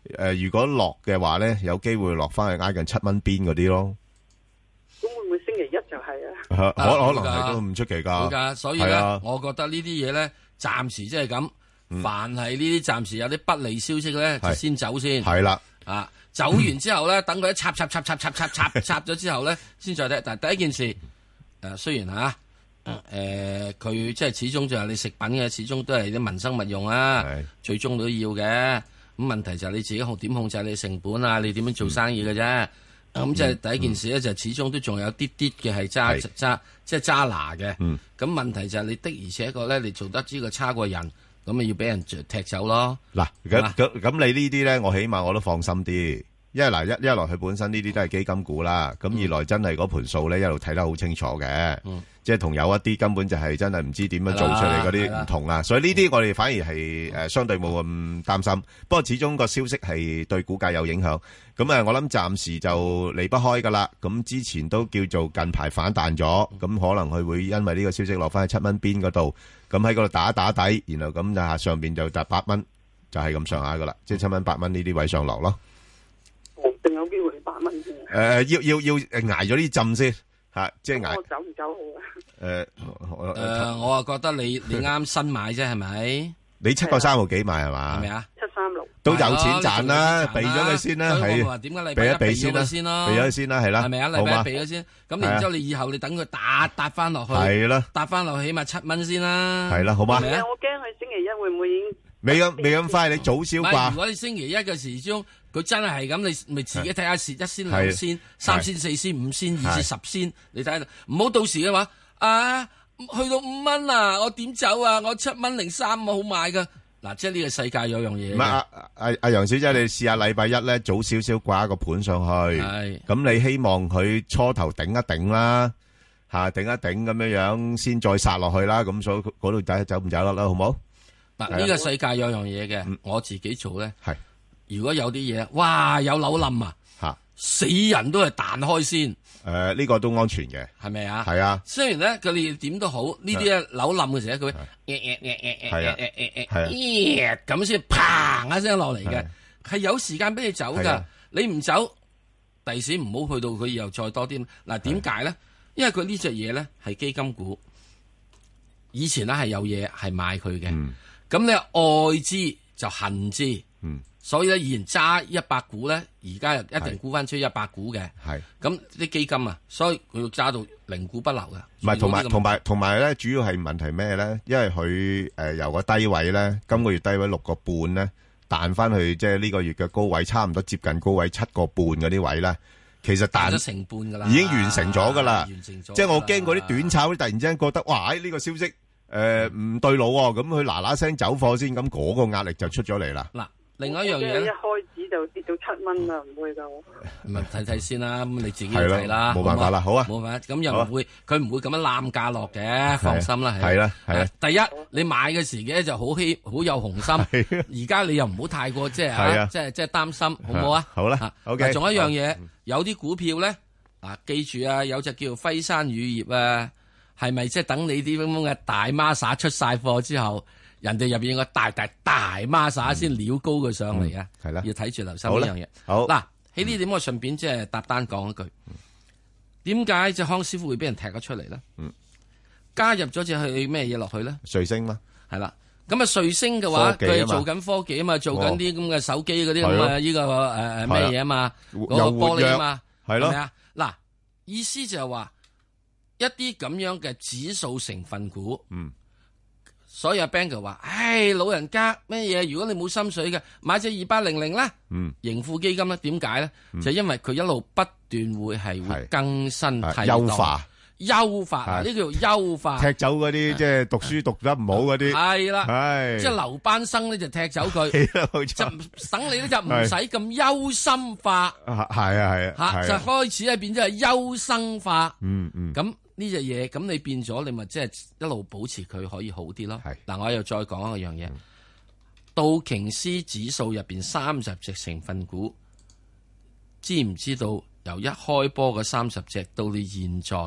誒，如果落嘅話咧，有機會落翻去挨近七蚊邊嗰啲咯。 咁會唔會星期一就係啊？ 可可能係都唔出奇噶。 好噶，所以咧，我覺得呢啲嘢咧，暫時即係咁。凡係呢啲暫時有啲不利消息咧，就先走先。 係啦， 啊，走完之後咧，等佢一插插插插插插插插咗之後咧，先再睇。但係第一件事，誒，雖然吓，誒，佢即係始終就係你食品嘅，始終都係啲民生物用啊，最終都要嘅。咁問題就係你自己控點控制你成本啊，你點樣做生意嘅啫。咁即係第一件事咧，就始終都仲有啲啲嘅係揸揸，即係揸拿嘅。咁問題就係你的而且確咧，你做得呢個差過人。咁咪要俾人踢走咯。嗱， 咁咁咁你呢啲咧，我起碼我都放心啲。因為嗱，一一來佢本身呢啲都係基金股啦，咁二來真係嗰盤數咧一路睇得好清楚嘅，即係同有一啲根本就係真係唔知點樣做出嚟嗰啲唔同啦。所以呢啲我哋反而係誒相對冇咁擔心。不過始終個消息係對股價有影響。咁啊，我諗暫時就離不開噶啦。咁之前都叫做近排反彈咗，咁可能佢會因為呢個消息落翻去七蚊邊嗰度，咁喺嗰度打一打底，然後咁就下上邊就達八蚊，就係咁上下噶啦，即係七蚊八蚊呢啲位上落咯。 定有機會八蚊先。 誒，要要要挨咗呢浸先吓，即係挨。 我走唔走好啊？ 誒誒，我啊覺得你你啱新買啫，係咪？ 你七個三毫幾買係嘛？ 係咪啊？ 七三六都有錢賺啦，避咗佢先啦，係。 點解你避一避先啦？ 避咗佢先啦，係啦。 係咪啊？禮拜一避咗先，咁然之後你以後你等佢打搭翻落去， 係啦， 搭翻落去起碼七蚊先啦。 係啦，好嘛？ 係啊，我驚佢星期一會唔會已經未咁未咁快？你早消化。 如果你星期一嘅時鐘。佢真係係咁，你咪自己睇下蝕一仙、兩仙、三仙、四仙、五仙、二至十仙，你睇下，唔好到時嘅話，啊，去到五蚊啊，我點走啊？我七蚊零三我好買噶。嗱，即係呢個世界有樣嘢。唔係阿阿阿楊小姐，你試下禮拜一咧早少少掛個盤上去，咁你希望佢初頭頂一頂啦，嚇頂一頂咁樣樣，先再殺落去啦。咁所以嗰度睇走唔走得啦，好冇？ 嗱，呢個世界有樣嘢嘅，我自己做咧。係。如果有啲嘢，哇有樓冧啊，吓死人都係彈開先。 誒，呢個都安全嘅， 係咪啊？ 係啊。 雖然咧佢哋點都好，呢啲咧樓冧嘅時候，佢誒誒誒誒誒誒誒誒誒咁先嘭一聲落嚟嘅，係有時間俾你走噶。你唔走，第時唔好去到佢以後再多啲。嗱，點解咧？因為佢呢隻嘢咧係基金股，以前咧係有嘢係買佢嘅，咁你愛之就恨之。所以咧，以前揸一百股咧，而家又一定沽翻出一百股嘅。係咁啲基金啊，所以佢要揸到零股不留嘅。 唔係，同埋同埋同埋咧，主要係問題咩咧？因為佢誒由個低位咧，今個月低位六個半咧，彈翻去即係呢個月嘅高位，差唔多接近高位七個半嗰啲位咧，其實彈咗成半噶啦， 已經完成咗噶啦。 完成咗。 即係我驚嗰啲短炒突然之間覺得，哇！呢個消息誒唔對路喎，咁佢嗱嗱聲走貨先，咁嗰個壓力就出咗嚟啦。 嗱。另外一樣嘢咧， 一開始就跌到七蚊啦，唔會噶。 唔係睇睇先啦，咁你自己睇啦， 冇辦法啦，好啊， 冇辦法，咁又唔會，佢唔會咁樣攬價落嘅，放心啦， 係啦，係啊。 第一，你買嘅時嘅就好希好有雄心，而家你又唔好太過即係啊，即係即係擔心，好唔好啊？ 好啦，OK。 仲有一樣嘢，有啲股票咧，啊，記住啊，有隻叫輝山乳業啊，係咪即係等你啲咁樣嘅大孖沙出晒貨之後？人哋入邊個大大大孖沙先撩高佢上嚟啊！係啦，要睇住留心呢樣嘢。好嗱，喺呢點我順便即係搭單講一句，點解隻康師傅會俾人踢咗出嚟咧？嗯，加入咗隻去咩嘢落去咧？ 瑞星嘛， 係啦。咁啊，瑞星嘅話，佢係做緊科技啊嘛，做緊啲咁嘅手機嗰啲咁嘅呢個誒誒咩嘢啊嘛，嗰個玻璃啊嘛，係咯。係咪啊？嗱，意思就係話一啲咁樣嘅指數成分股，嗯。所以阿 Ben 哥話，唉，老人家咩嘢？如果你冇心水嘅，買隻二八零零啦，嗯，盈富基金咧，點解咧？嗯、就因為佢一路不斷會係會更新替代、優化、優化，呢叫做優化。 踢走嗰啲即係讀書讀得唔好嗰啲， 係啦， 係即係留班生咧就踢走佢，就等你咧就唔使咁憂心化， 係啊係啊， 吓就開始係變咗係優生化， 嗯嗯， 咁。呢隻嘢咁你變咗，你咪即係一路保持佢可以好啲咯。嗱，我又再講一樣嘢，道瓊斯指數入邊三十隻成分股，知唔知道由一開波嘅三十隻到你現在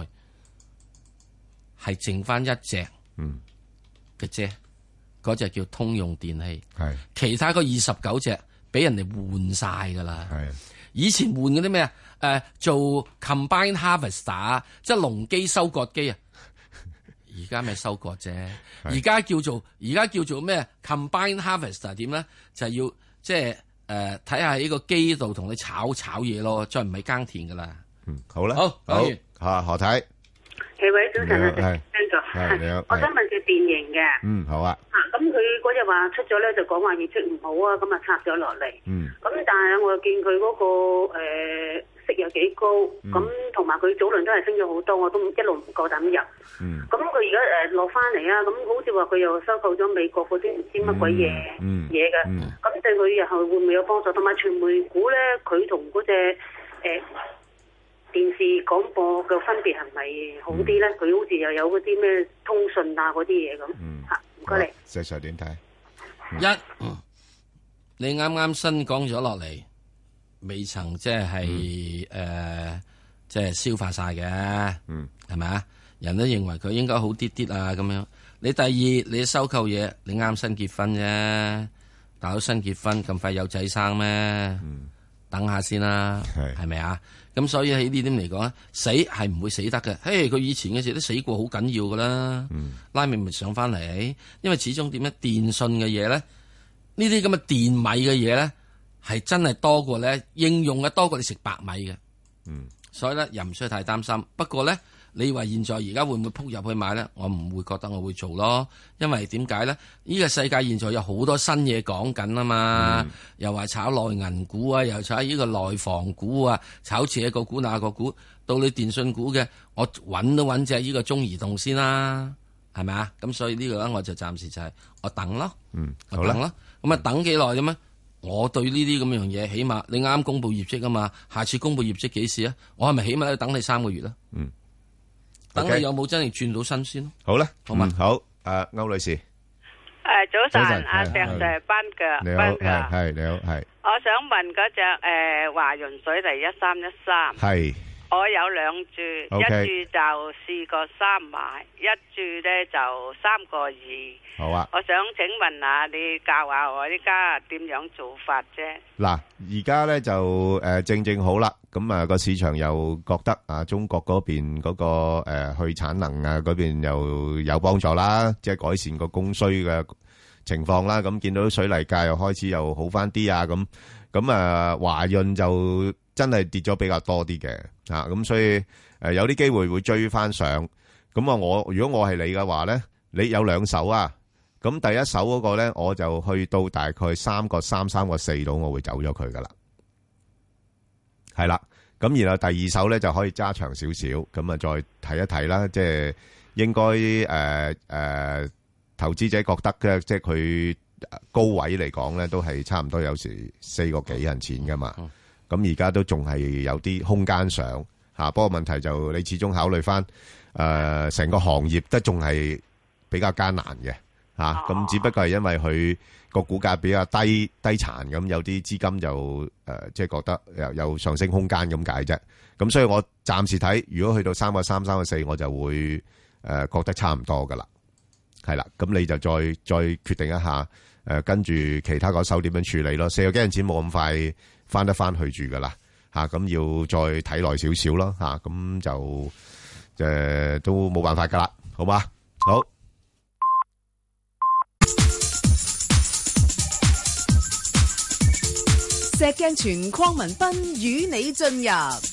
係剩翻一隻嘅啫，嗰隻叫通用電器，其他嗰二十九隻俾人哋換晒噶啦。以前換嗰啲咩啊？誒、呃，做 combine harvester， 即係農機收割機啊。而家咩收割啫？而家叫做而家叫做咩 combine harvester 點咧？就係、是、要即係誒睇下喺個機度同你炒炒嘢咯，再唔係耕田噶啦。 嗯，好啦， 好， 好吓何太。 幾位早晨啊，係邊個？ 係你好， 我想問隻電盈嘅。 嗯，好啊。 啊，咁佢嗰日話出咗咧，就講話業績唔好啊，咁啊拆咗落嚟。嗯。咁但係我又見佢嗰、那個誒、呃、息又幾高，咁同埋佢早輪都係升咗好多，我都一路唔夠膽入。嗯。咁佢而家誒落翻嚟啊，咁好似話佢又收購咗美國嗰啲唔知乜鬼嘢嘢嘅，咁、嗯嗯嗯、對佢日後會唔會有幫助？同埋傳媒股咧，佢同嗰隻誒。呃電視廣播嘅分別係咪好啲咧？佢、嗯、好似又有嗰啲咩通訊啊嗰啲嘢咁。吓，唔該你。 石 Sir 點睇？ 一，嗯、你啱啱新講咗落嚟，未曾即係誒，即、嗯、係、呃、消化晒嘅。嗯，係咪啊？人都認為佢應該好啲啲啊，咁樣。你第二，你收購嘢，你啱新結婚啫，大佬新結婚咁快有仔生咩？嗯，等下先啦，係係咪啊？咁所以喺呢點嚟講咧，死係唔會死得嘅。嘿，佢以前嘅時都死過好緊要噶啦，嗯、拉尾咪上翻嚟。因為始終點咧，電信嘅嘢咧，呢啲咁嘅電米嘅嘢咧，係真係多過咧應用嘅多過你食白米嘅。嗯，所以咧又唔需要太擔心。不過咧，你話現在而家會唔會撲入去買咧？我唔會覺得我會做咯，因為點解咧？呢、這個世界現在有好多新嘢講緊啊嘛，嗯、又話炒內銀股啊，又炒呢個內房股啊，炒這個股那個股，到你電信股嘅，我揾都揾隻呢個中移動先啦，係咪啊？咁所以呢個咧，我就暫時就係我等咯，嗯，我等咯，咁啊等幾耐啫咩？我對呢啲咁樣嘢，起碼你啱公布業績啊嘛，下次公布業績幾時啊？我係咪起碼要等你三個月啦？嗯。等你有冇真係轉到新鮮咯？好啦，好嘛，好，誒，歐女士，誒， 早晨，阿石 Sir 班嘅， 你好，係係你好，係。 我想問嗰隻誒華潤水泥一三一三，係，我有兩注，一注就四個三買，一注咧就三個二。好啊，我想請問下你教下我依家點樣做法啫？ 嗱，而家咧就誒正正好啦。咁啊，個市場又覺得啊，中國嗰邊嗰個誒去產能啊嗰邊又有幫助啦，即係改善個供需嘅情況啦。咁見到水泥價又開始又好翻啲啊，咁咁啊華潤就真係跌咗比較多啲嘅啊，咁所以誒有啲機會會追翻上。咁啊，我如果我係你嘅話咧，你有兩手啊，咁第一手嗰個咧，我就去到大概三個三、三個四度，我會走咗佢噶啦。係啦，咁然後第二手咧就可以揸長少少，咁啊再睇一睇啦，即係應該誒誒，投資者覺得嘅，即係佢高位嚟講咧，都係差唔多有時四個幾銀錢噶嘛，咁而家都仲係有啲空間上吓，不過問題就你始終考慮翻誒成個行業都仲係比較艱難嘅吓，咁只不過係因為佢個股價比較低低殘咁，有啲資金就誒、呃，即係覺得有有上升空間咁解啫。咁所以我暫時睇，如果去到三個三、三個四，我就會誒、呃、覺得差唔多噶啦。係啦，咁你就再再決定一下誒、呃，跟住其他嗰手點樣處理咯。四個幾銀錢冇咁快翻得翻去住噶啦，吓、啊、咁要再睇耐少少咯，吓、啊、咁就誒、呃、都冇辦法噶啦，好嘛？好。 石鏡泉鄺民彬與你進入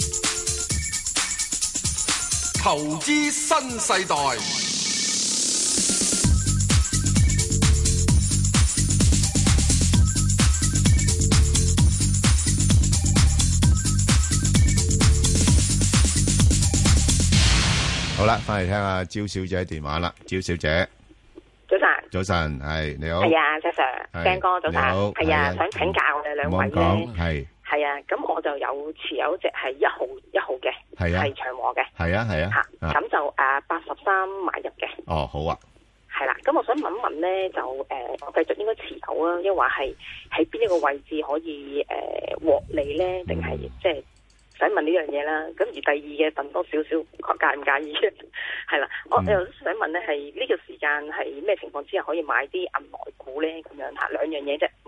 投資新世代。 好啦，翻嚟聽下招小姐電話啦，招小姐。 早晨， 早晨，係你好， 係啊，石 Sir， 鄭哥早晨，係啊，想請教我哋兩位咧，係係啊，咁我就有持有隻係一號一號嘅，係啊，係長和嘅，係啊係啊，吓咁就誒八十三買入嘅，哦好啊，係啦，咁我想問一問咧，就誒我繼續應該持有啊，抑或係喺邊一個位置可以誒獲利咧，定係即係？想問呢樣嘢啦，咁而第二嘅問多少少，介唔介意？係啦，我又想問咧，係呢個時間係咩情況之下可以買啲銀來股咧？咁樣嚇兩樣嘢啫，唔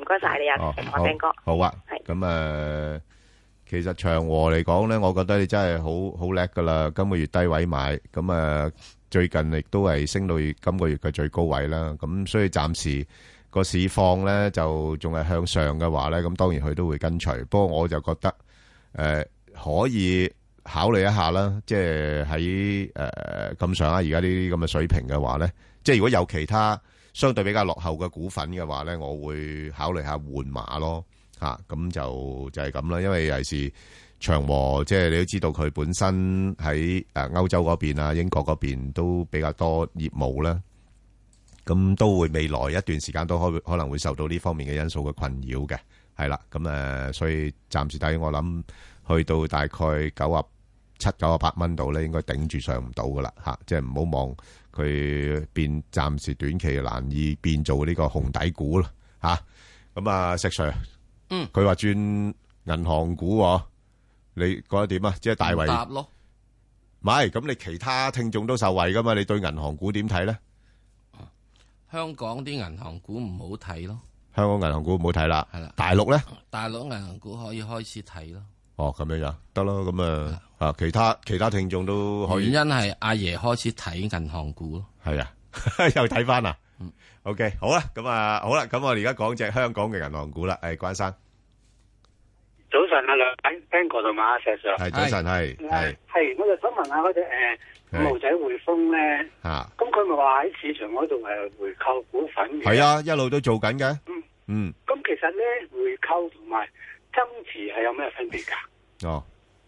該晒你啊，我聽哥。 好啊，咁誒，其實長和嚟講咧，我覺得你真係好好叻噶啦，今個月低位買，咁誒最近亦都係升到今個月嘅最高位啦，咁所以暫時個市況咧就仲係向上嘅話咧，咁當然佢都會跟隨，不過我就覺得誒可以考慮一下啦，即係喺誒咁上下而家呢啲咁嘅水平嘅話咧，即係如果有其他相對比較落後嘅股份嘅話咧，我會考慮下換馬咯，嚇咁就就係咁啦。因為尤其是長和，即係你都知道佢本身喺誒歐洲嗰邊啊、英國嗰邊都比較多業務啦，咁都會未來一段時間都可可能會受到呢方面嘅因素嘅困擾嘅，係啦。咁誒，所以暫時睇我諗去到大概九啊七、九啊八蚊度咧，應該頂住上唔到噶啦嚇，即係唔好望佢變，暫時短期難以變做呢個紅底股啦嚇。咁啊，石 Sir，嗯，佢話轉銀行股，你覺得點啊？即係大圍答咯，唔係咁，你其他聽眾都受惠噶嘛？你對銀行股點睇咧？ 香港啲銀行股唔好睇咯， 香港銀行股唔好睇啦，係啦。大陸咧？ 大陸銀行股可以開始睇咯。哦， 咁樣樣得咯，咁啊啊，其他其他聽眾都可以。 原因係阿爺開始睇銀行股咯。 係啊，又睇翻啊。嗯，OK，好啦，咁啊，好啦，咁我哋而家講隻香港嘅銀行股啦。誒，關生， 早晨啊，兩位 Ben 哥同埋阿石 Sir。 係早晨，係係係，我就想問下嗰隻誒五號仔匯豐咧。吓。咁佢咪話喺市場嗰度誒回購股份嘅？ 係啊，一路都做緊嘅。嗯嗯。 咁其實咧回購同埋增持係有咩分別噶？ 哦，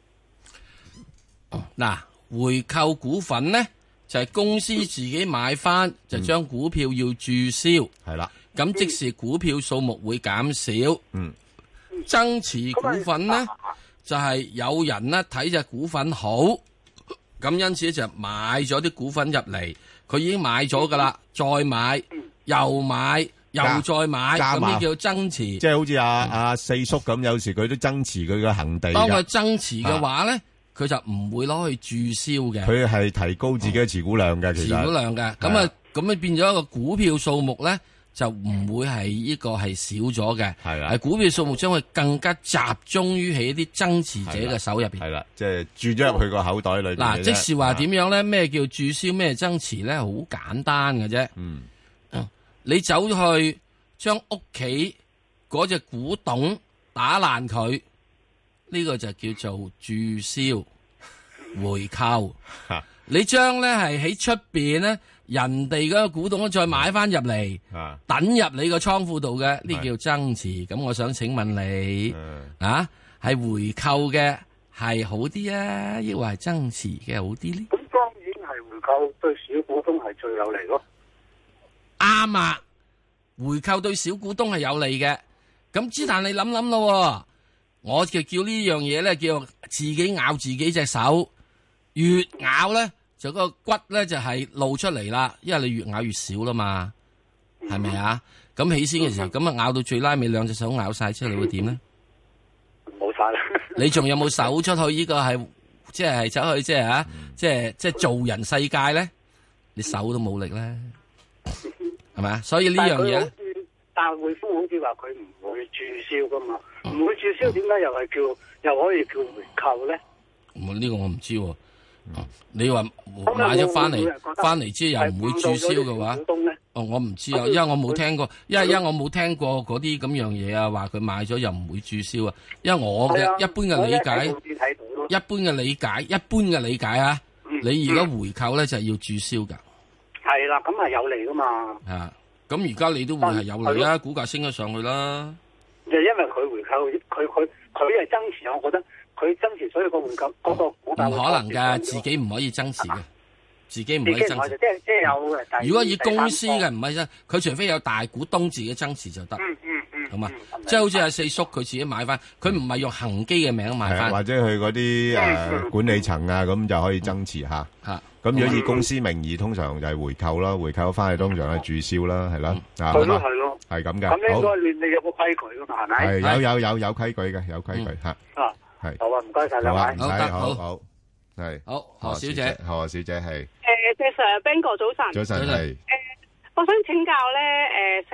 嗱，回購股份咧就係、是、公司自己買翻，嗯、就將股票要註銷，係啦、嗯。咁即時股票數目會減少。嗯，增持股份咧、嗯、就係、是、有人咧睇隻股份好，咁因此就買咗啲股份入嚟，佢已經買咗噶啦，再買又買。又再買，咁呢叫增持， 即係好似阿阿四叔咁，有時佢都增持佢嘅恒地。 當佢增持嘅話咧，佢、啊、就唔會攞去註銷嘅。 佢係提高自己嘅持股量嘅，其實持股量嘅，咁啊，咁啊變咗一個股票數目咧，就唔會係呢個係少咗嘅。係啊，係股票數目將會更加集中於喺啲增持者嘅手入邊。係啦， 即係注咗入去個口袋裏邊。嗱、 啊，即是話點樣咧？咩叫註銷？咩增持咧？好簡單嘅啫。嗯。你走去將屋企嗰隻古董打爛佢，呢、這個就叫做註銷回購。你將咧係喺出邊咧，人哋嗰個古董再買翻入嚟，等入你個倉庫度嘅，呢叫增持。咁我想請問你啊，係回購嘅係好啲啊，抑或係增持嘅好啲咧？ 咁當然係回購對小股東係最有利咯。 啱啊！回購對小股東係有利嘅，咁之但你諗諗咯，我就叫呢樣嘢咧，叫自己咬自己隻手，越咬咧就個骨咧就係露出嚟啦，因為你越咬越少啦嘛，係咪啊？咁起先嘅時候，咁啊咬到最拉尾兩隻手咬晒出嚟，你會點咧？ 冇晒啦！ 你仲有冇手出去？呢個係即係走去即係啊，即係即係做人世界咧，你手都冇力咧。係咪啊？所以呢樣嘢， 但係匯豐好似話佢唔會註銷噶嘛，唔、嗯、會註銷，點解又係叫又可以叫回購咧？ 咁呢個我唔知喎、啊。你話買咗翻嚟，翻嚟之後又唔會註銷嘅話，哦，我唔知啊，因為我冇聽過，因為因為我冇聽過嗰啲咁樣嘢啊，話佢買咗又唔會註銷啊。因為我嘅一般嘅理解，一般嘅理解，一般嘅理解啊，嗯、你而家回購咧就係要註銷噶。 係啦，咁係有利噶嘛？ 啊，咁而家你都會係有利啦，股價升咗上去啦。 就因為佢回購，佢佢佢係增持，我覺得佢增持，所以個回購嗰個股價唔可能噶，自己唔可以增持嘅，自己唔可以增持。 即係即係有嘅。 如果以公司嘅唔係啫，佢除非有大股東自己增持就得。嗯嗯嗯。好嘛，即係好似阿四叔佢自己買翻，佢唔係用恒基嘅名買翻， 或者佢嗰啲誒管理層啊，咁就可以增持吓。吓。咁如果以公司名義，通常就係回購啦，回購翻去通常係註銷啦，係啦，啊， 係咯係咯， 係咁嘅。 咁應該你你有個規矩噶嘛，係咪？ 係有有有有規矩嘅，有規矩吓。 啊，係好啊，唔該晒兩位， 唔使，好好係。 好，何小姐， 何小姐係。 誒，謝 Sir，Ben 哥早晨。 早晨係。誒， 我想請教咧，誒，石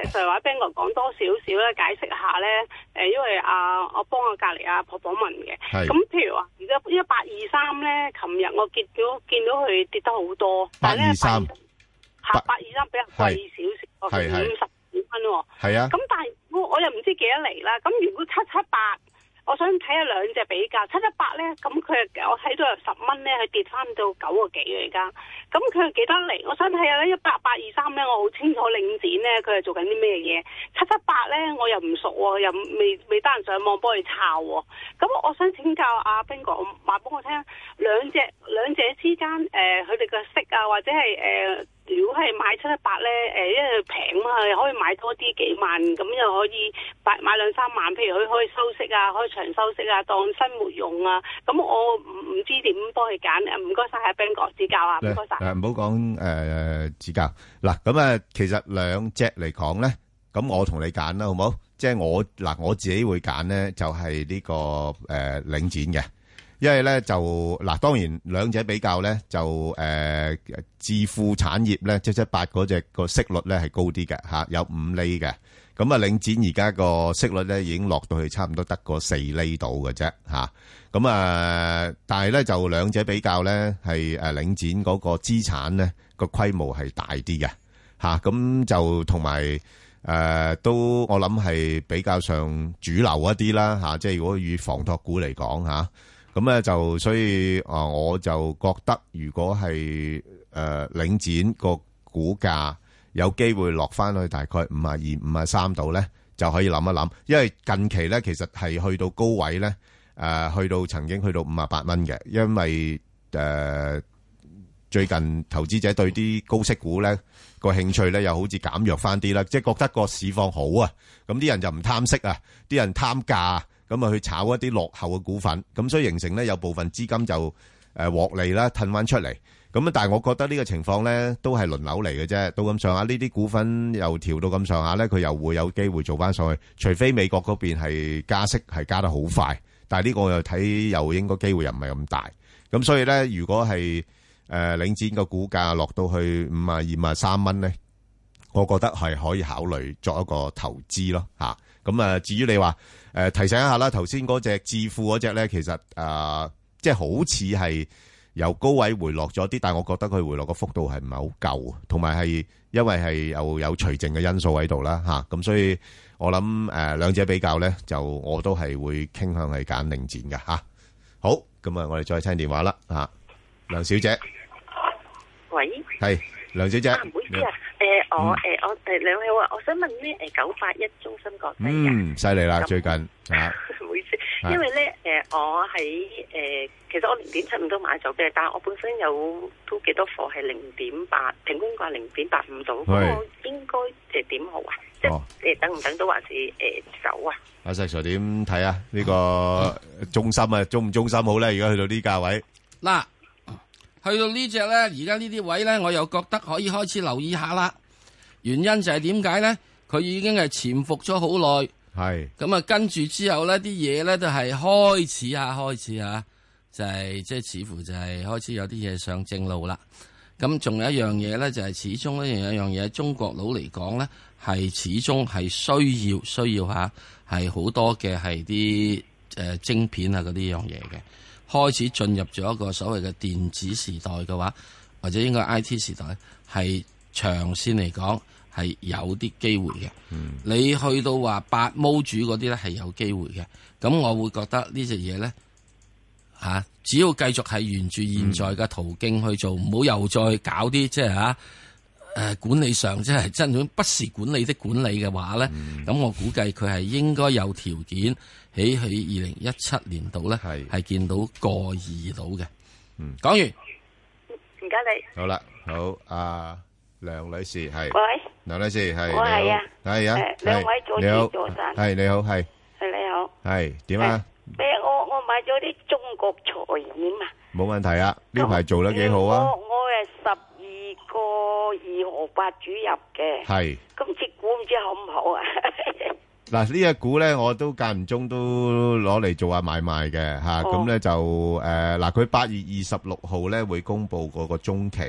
石 Sir 或者 Ben 哥講多少少咧，解釋下咧。誒，因為啊，我幫我隔離阿婆婆問嘅。咁譬如話，而家一八二三咧，琴日我見到見到佢跌得好多，但係咧八八二三比較貴少少，五十幾蚊喎。係啊。咁但係我我又唔知幾多厘啦。咁如果七七八。我想睇下兩隻比較，七七八咧，咁佢我睇到有十蚊咧，佢跌翻到九個幾而家，咁佢係幾多厘？我想睇下咧，一八八二三咧，我好清楚領展咧，佢係做緊啲咩嘢？七七八咧，我又唔熟喎，又未未得閒上網幫佢抄喎。咁我想請教阿彬哥，話俾我聽，兩隻兩者之間誒，佢哋嘅息啊，或者係誒、呃，如果係買七七八咧，誒、呃，因為平嘛，可以買多啲幾萬，咁又可以買買兩三萬，譬如佢可以收息啊，可以長收息啊，當生活用啊。咁我唔唔知點幫佢揀，唔該晒阿 Ben 哥指教啊，唔該晒。誒，唔好講誒指教嗱，咁啊，其實兩隻嚟講咧，咁我同你揀啦，好唔好？即係我嗱，我自己會揀咧，就係呢個誒領展嘅。因為咧就嗱，當然兩者比較咧就誒，置富產業咧七七八嗰隻個息率咧係高啲嘅吓，有五厘嘅。咁啊，領展而家個息率咧已經落到去差唔多得個四厘度嘅啫吓。咁啊，但係咧就兩者比較咧係誒，領展嗰個資產咧個規模係大啲嘅吓。咁就同埋誒都我諗係比較上主流一啲啦吓。即係如果以房託股嚟講吓。咁咧就所以啊，我就覺得如果係誒、呃、領展個股價有機會落翻去大概五啊二、五啊三度咧，就可以諗一諗，因為近期咧其實係去到高位咧，誒、呃、去到曾經去到五啊八蚊嘅，因為誒、呃、最近投資者對啲高息股咧個興趣咧又好似減弱翻啲啦，即係覺得個市況好啊，咁啲人就唔貪息啊，啲人貪價。咁啊，去炒一啲落後嘅股份，咁所以形成咧有部分資金就誒獲利啦，褪翻出嚟。咁啊，但係我覺得呢個情況咧都係輪流嚟嘅啫。到咁上下，呢啲股份又調到咁上下咧，佢又會有機會做翻上去。除非美國嗰邊係加息係加得好快，但係呢個我又睇又應該機會又唔係咁大。咁所以咧，如果係誒領展個股價落到去五啊二、五啊三蚊咧，我覺得係可以考慮作一個投資咯嚇。咁啊，至於你話誒、呃、提醒一下啦，頭先嗰隻置富嗰隻咧，其實誒、呃、即係好似係由高位回落咗啲，但係我覺得佢回落個幅度係唔係好夠，同埋係因為係又有除淨嘅因素喺度啦嚇，咁、啊、所以我諗誒、呃、兩者比較咧，就我都係會傾向係揀領展嘅嚇。好，咁啊，我哋再聽電話啦嚇，梁小姐， 喂， 係梁小姐， 唔好意思啊。誒，我誒，我哋兩位好啊，我想問咧，誒，九八一中芯國際嗯，犀利啦，最近啊，唔好意思，因為咧，誒，我喺誒，其實我零點七五都買咗嘅，但係我本身有都幾多貨係零點八，平均價零點八五度，咁我應該誒點好啊？即係誒等唔等到還是誒走啊？ 阿石 Sir 點睇啊？呢個中芯啊，中唔中芯好咧？而家去到呢價位， 嗱。去到呢隻咧，而家呢啲位咧，我又覺得可以開始留意下啦。原因就係點解咧？佢已經係潛伏咗好耐，係咁啊，跟住之後咧，啲嘢咧都係開始啊，開始啊，就係即係似乎就係開始有啲嘢上正路啦。咁仲有一樣嘢咧，就係始終咧，有一樣嘢，中國佬嚟講咧，係始終係需要需要吓，係好多嘅係啲誒晶片啊嗰啲樣嘢嘅。開始進入咗一個所謂嘅電子時代嘅話，或者應該 I T 時代，係長線嚟講係有啲機會嘅。嗯、你去到話八毛主嗰啲咧係有機會嘅。咁我會覺得呢隻嘢咧嚇，只要繼續係沿住現在嘅途徑去做，唔好、嗯、又再搞啲即係嚇誒管理上即係真種不是管理的管理嘅話咧，咁、嗯、我估計佢係應該有條件。喺喺二零一七年度咧，係係見到個二度嘅。嗯，講完， 唔該你。 好啦，好，阿梁女士係。 喂， 梁女士係。 我係啊， 係啊， 誒，兩位早晨，早晨。 係你好，係。 係你好。 係點啊？ 誒，我我買咗啲中國財險啊。冇問題啊，呢排做得幾好啊。 我我係十二個二毫八主入嘅。係。今次股唔知好唔好啊？ 嗱，呢隻股咧，我都間唔中都攞嚟做下買賣嘅吓，咁咧就誒，嗱，佢八月二十六號咧會公布嗰個中期，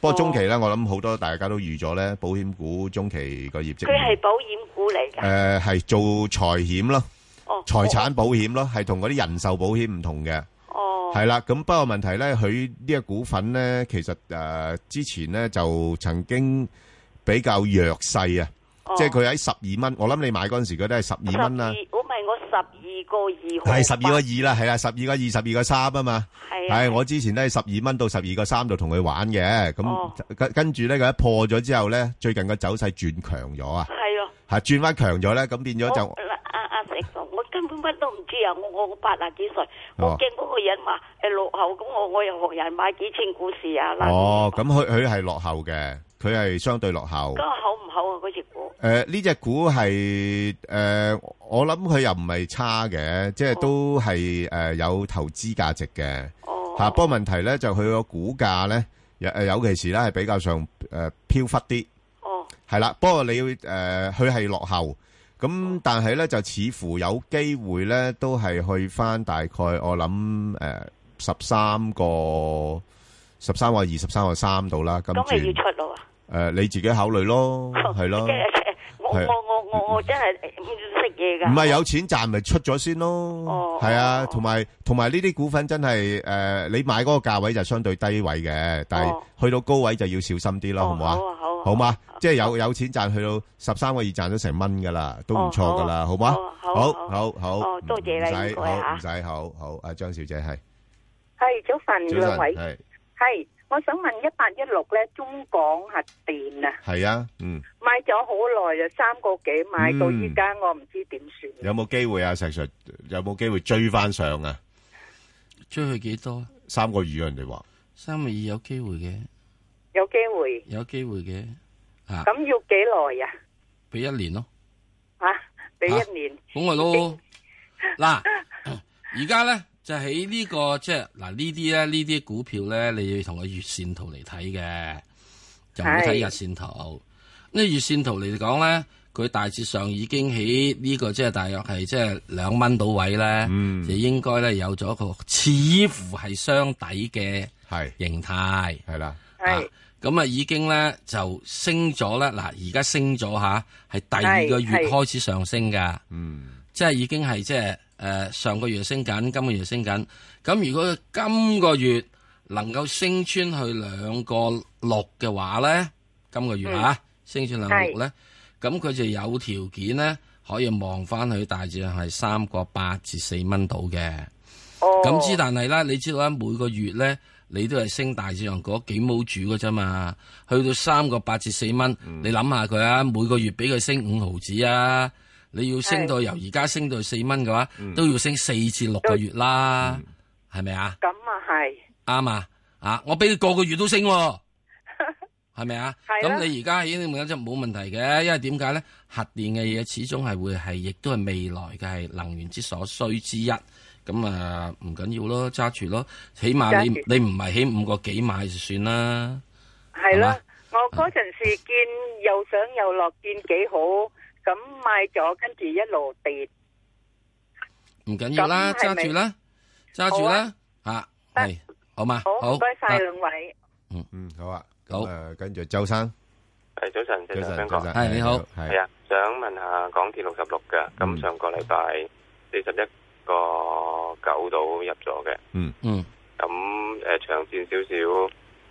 不過中期咧，我諗好多大家都預咗咧，保險股中期個業績。 佢係保險股嚟㗎。 誒，係做財險咯， 哦， 財產保險咯，係同嗰啲人壽保險唔同嘅。 哦， 係啦，咁不過問題咧，佢呢個股份咧，其實誒之前咧就曾經比較弱勢啊，即係佢喺十二蚊。我諗你買嗰陣時，佢都係十二蚊啦。 我咪我十二個二。 係十二個二啦，係啊，十二個二，十二個三啊嘛。係。係我之前都係十二蚊到十二個三度同佢玩嘅，咁跟跟住咧佢一破咗之後咧，最近個走勢轉強咗啊。係咯。係轉翻強咗咧，咁變咗就。 阿阿石叔，我根本乜都唔知啊！我我我八啊幾歲，我驚嗰個人話誒落後，咁我我又學人買幾千股市啊。 哦，咁佢佢係落後嘅，佢係相對落後。 咁好唔好啊？嗰隻股？ 誒，呢隻股係誒，我諗佢又唔係差嘅，即係都係誒有投資價值嘅。哦。吓，不過問題咧就佢個股價咧，誒尤其是咧係比較上誒飄忽啲。哦。係啦，不過你要誒，佢係落後。咁但係咧就似乎有機會咧，都係去翻大概我諗誒十三個十三個二十三個三度啦。咁咁咪要出咯？ 誒，你自己考慮咯，係咯。 我我我我我真係唔識嘢噶。 唔係有錢賺咪出咗先咯。哦。係啊，同埋同埋呢啲股份真係誒，你買嗰個價位就相對低位嘅，但係去到高位就要小心啲咯，好唔好啊？好啊，好。好嘛，即係有有錢賺，去到十三個二賺咗成蚊噶啦，都唔錯噶啦，好嘛？好，好，好， 哦，多謝你，唔該吓， 唔使，好好，阿張小姐係， 係早晨，兩位係，係，我想問一八一六咧，中港核電啊， 係啊，嗯， 買咗好耐就三個幾買到依家，我唔知點算。 有冇機會啊？石 Sir 有冇機會追翻上啊？ 追去幾多？ 三個二啊，人哋話三個二有機會嘅。 有機會， 有機會嘅， 啊！咁要幾耐呀？ 俾一年咯， 啊！俾一年， 咁咪咯。嗱，而家咧就喺呢個即係嗱呢啲咧呢啲股票咧，你要同個月線圖嚟睇嘅，就唔好睇日線圖。呢月線圖嚟講咧，佢大致上已經喺呢個即係大約係即係兩蚊到位咧，就應該咧有咗一個似乎係雙底嘅形態，係啦，係。咁啊，已經咧就升咗咧。嗱，而家升咗吓，係第二個月開始上升噶。嗯，即係已經係即係誒，上個月升緊，今個月升緊。咁如果今個月能夠升穿去兩個六嘅話咧，今個月吓、嗯、升穿兩個六咧，咁佢就有條件咧可以望翻去大致係三個八至四蚊到嘅。哦，咁之但係咧，你知道咧每個月咧。你都係升大致上嗰幾毛主嘅啫嘛，去到三個八至四蚊，嗯、你諗下佢啊，每個月俾佢升五毫子啊，你要升到由而家升到四蚊嘅話，嗯、都要升四至六個月啦，係咪、嗯、啊？ 咁啊係， 啱啊，啊我俾你個個月都升，係咪啊？咁你而家已經冇冇問題嘅，因為點解咧？核電嘅嘢始終係會係，亦都係未來嘅係能源之所需之一。咁啊，唔緊要咯，揸住咯，起碼你你唔係起五個幾買就算啦。 係咯，我嗰陣時見又上又落，見幾好，咁買咗，跟住一路跌。 唔緊要啦，揸住啦，揸住啦，吓係好嘛？好， 唔該晒兩位。 嗯嗯，好啊， 好。 誒，跟住周生， 係早晨，早晨， 早晨， 係你好， 係啊，想問下港鐵六十六嘅，咁上個禮拜四十一個九度入咗嘅，嗯嗯，咁誒長線少少，誒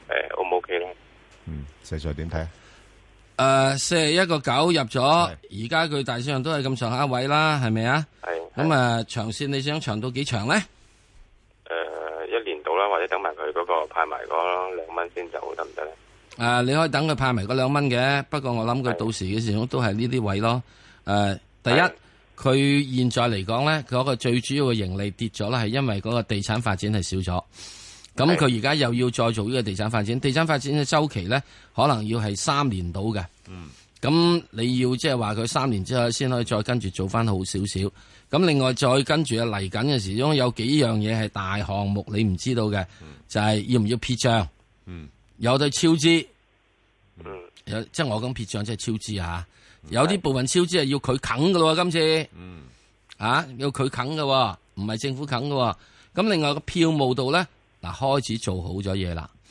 O 唔 OK 咧？ 嗯，細細點睇啊？ 誒，四十一個九入咗，而家佢大致上都係咁上下位啦，係咪啊？係。咁啊，長線你想長到幾長咧？ 誒，一年到啦，或者等埋佢嗰個派埋嗰兩蚊先走得唔得咧？ 誒，你可以等佢派埋嗰兩蚊嘅，不過我諗佢到時嘅時候都係呢啲位咯。誒，第一。佢現在嚟講咧，嗰個最主要嘅盈利跌咗啦，係因為嗰個地產發展係少咗。咁佢而家又要再做呢個地產發展，地產發展嘅周期咧，可能要係三年到嘅。嗯。咁你要即係話佢三年之後先可以再跟住做翻好少少。咁另外再跟住啊嚟緊嘅時鐘有幾樣嘢係大項目你唔知道嘅，嗯、就係要唔要撇賬？嗯。有對超支。嗯。有即係我講撇賬即係超支啊！有啲部分超支係要佢啃噶咯，今次，嗯，啊，要佢啃噶，唔係政府啃噶。咁另外個票務度咧，嗱開始做好咗嘢啦，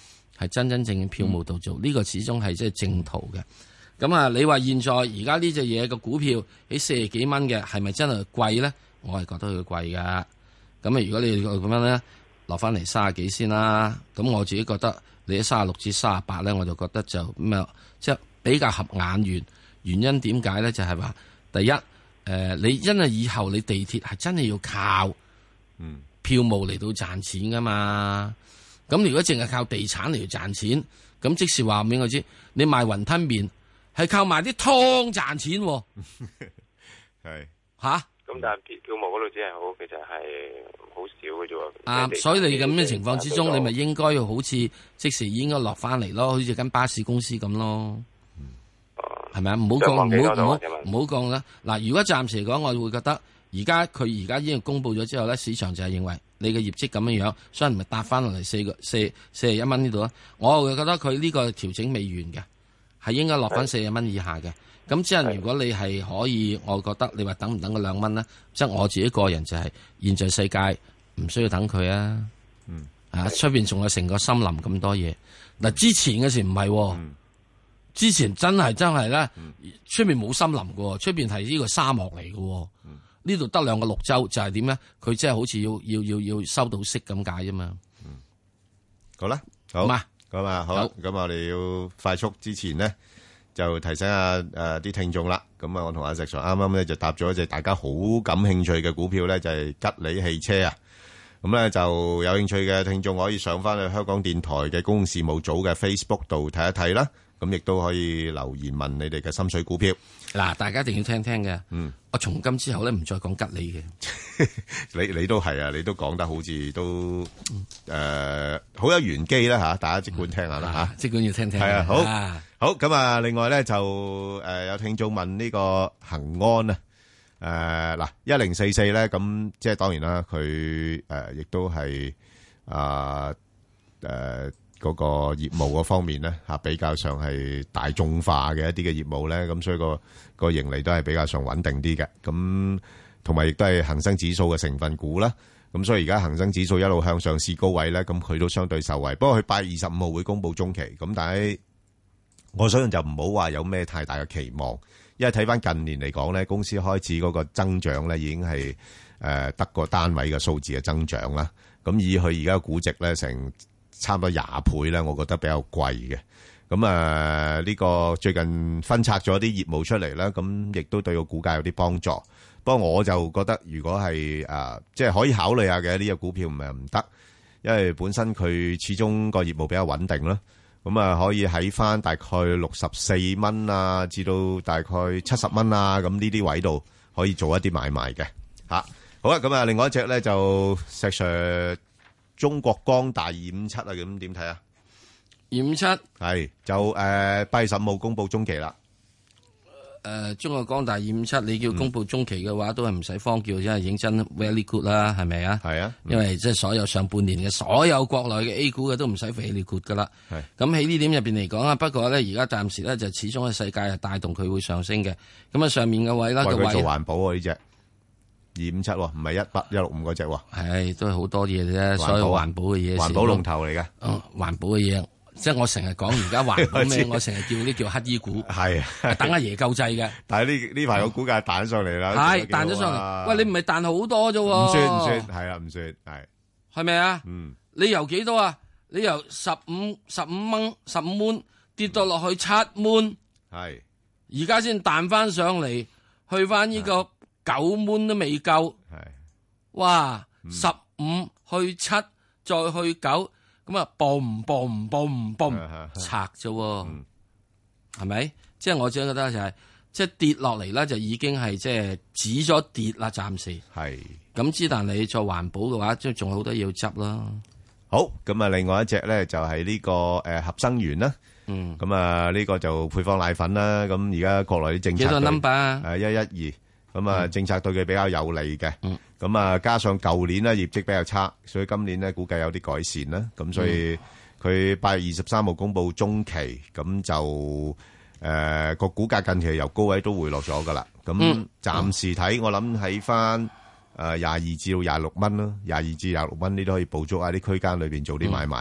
係真真正正票務度做，呢、嗯、個始終係即係正途嘅。咁啊，你話現在而家呢隻嘢嘅股票喺四十幾蚊嘅，係咪真係貴咧？我係覺得佢貴噶。咁啊，如果你咁樣咧，落翻嚟三十幾先啦。咁我自己覺得你喺三十六至三十八咧，我就覺得就咩，即係比較合眼緣。原因點解咧？就係、是、話第一，誒、呃，你因為以後你地鐵係真係要靠嗯票務嚟到賺錢噶嘛。咁如果淨係靠地產嚟到賺錢，咁即是話俾我知，你賣雲吞麵係靠賣啲湯賺錢， 係吓。 咁但係票票務嗰度只係好，其實係好少嘅啫。 啊，所以你咁嘅情況之中，你咪應該要好似即時應該落翻嚟咯，好似間巴士公司咁咯。係咪啊？唔好講，唔好唔好唔好講啦。嗱，如果暫時嚟講，我會覺得而家佢而家已經公布咗之後咧，市場就係認為你嘅業績咁樣樣，所以咪搭翻落嚟四個四四十一蚊呢度啦。我會覺得佢呢個調整未完嘅，係應該落翻四十蚊以下嘅。咁即係如果你係可以，我覺得你話等唔等嗰兩蚊咧？即係我自己個人就係、是、現在世界唔需要等佢啊。嗯，啊，出邊仲有成個森林咁多嘢。嗱、嗯，之前嘅時唔係、哦。嗯之前真係真係咧，出面冇森林嘅，出邊係呢個沙漠嚟嘅。呢度得兩個綠洲，就係點咧？佢即係好似要要要要收到息咁解啫嘛。 嗯，好啦，好嘛，咁啊，好，咁我哋要快速之前呢，就提醒下誒啲聽眾啦。咁啊，我同阿石 Sir 啱啱咧就搭咗一隻大家好感興趣嘅股票咧，就係吉利汽車啊。咁咧就有興趣嘅聽眾可以上翻去香港電台嘅公共事務組嘅 Facebook 度睇一睇啦。咁亦都可以留言問你哋嘅心水股票。 嗱，大家一定要聽聽嘅。嗯，我從今之後咧唔再講吉利嘅。 你你都係啊，你都講得好似都誒好有玄機啦嚇，大家即管聽下啦嚇。 即管要聽聽。 係啊，好，好咁啊。另外咧就誒有聽眾問呢個恒安啊，誒嗱一零四四咧，咁即係當然啦，佢誒亦都係啊誒。嗰個業務嗰方面咧嚇比較上係大眾化嘅一啲嘅業務咧，咁所以個個盈利都係比較上穩定啲嘅。咁同埋亦都係恆生指數嘅成分股啦。咁所以而家恆生指數一路向上試高位咧，咁佢都相對受惠。不過佢八月二十五號會公布中期，咁但係我相信就唔好話有咩太大嘅期望，因為睇翻近年嚟講咧，公司開始嗰個增長咧已經係誒得個單位嘅數字嘅增長啦。咁以佢而家嘅估值咧成差唔多廿倍咧，我覺得比較貴嘅。咁啊，呢個最近分拆咗啲業務出嚟啦，咁亦都對個股價有啲幫助。不過我就覺得，如果係啊，即係可以考慮下嘅呢個股票唔係唔得，因為本身佢始終個業務比較穩定啦。咁啊，可以喺翻大概六十四蚊啊，至到大概七十蚊啊，咁呢啲位度可以做一啲買賣嘅嚇。好啦，咁啊，另外一隻咧就石 Sir。中國光大二五七啊，咁點睇啊？ 二五七係就誒八月十五號公布中期啦。 誒、呃，中國光大二五七，你叫公布中期嘅話，嗯、都係唔使慌叫，因為認真 very good 啦，係咪啊？係啊，因為即係所有上半年嘅所有國內嘅 A 股嘅都唔使 very good 噶啦。係咁喺呢點入邊嚟講啊，不過咧而家暫時咧就始終嘅世界係帶動佢會上升嘅。咁啊上面嘅位啦， 為佢做環保啊呢隻。二五七唔係一八一六五嗰隻喎， 係都係好多嘢啫，所有環保嘅嘢， 環保龍頭嚟嘅。 嗯，環保嘅嘢，即係我成日講而家環保咩，我成日叫啲叫乞衣股，係等阿爺救濟嘅。 但係呢呢排個股價彈上嚟啦， 係彈咗上嚟。喂，你唔係彈好多啫？ 唔算唔算，係啊，唔算係， 係咪啊？ 嗯， 你由幾多啊？你由十五十五蚊十五蚊跌到落去七蚊， 係而家先彈翻上嚟，去翻呢個。九蚊都未夠，係哇！十五去七，再去九，咁啊，嘣嘣嘣嘣拆啫，係咪？即係我只覺得就係，即係跌落嚟咧，就已經係即係止咗跌啦，暫時係。 咁之但你做環保嘅話，即係仲有好多嘢要執啦。 好，咁啊，另外一隻咧就係呢個誒合生元啦。嗯，咁啊呢個就配方奶粉啦。咁而家國內啲政策幾多 number 啊？誒，一一二。咁啊，政策對佢比較有利嘅，咁啊，加上舊年咧業績比較差，所以今年咧估計有啲改善啦。咁所以佢八月二十三號公布中期，咁就誒個股價近期由高位都回落咗噶啦。咁暫時睇，我諗喺翻誒廿二至到廿六蚊咯，廿二至廿六蚊，你都可以捕捉喺啲區間裏邊做啲買賣嘅。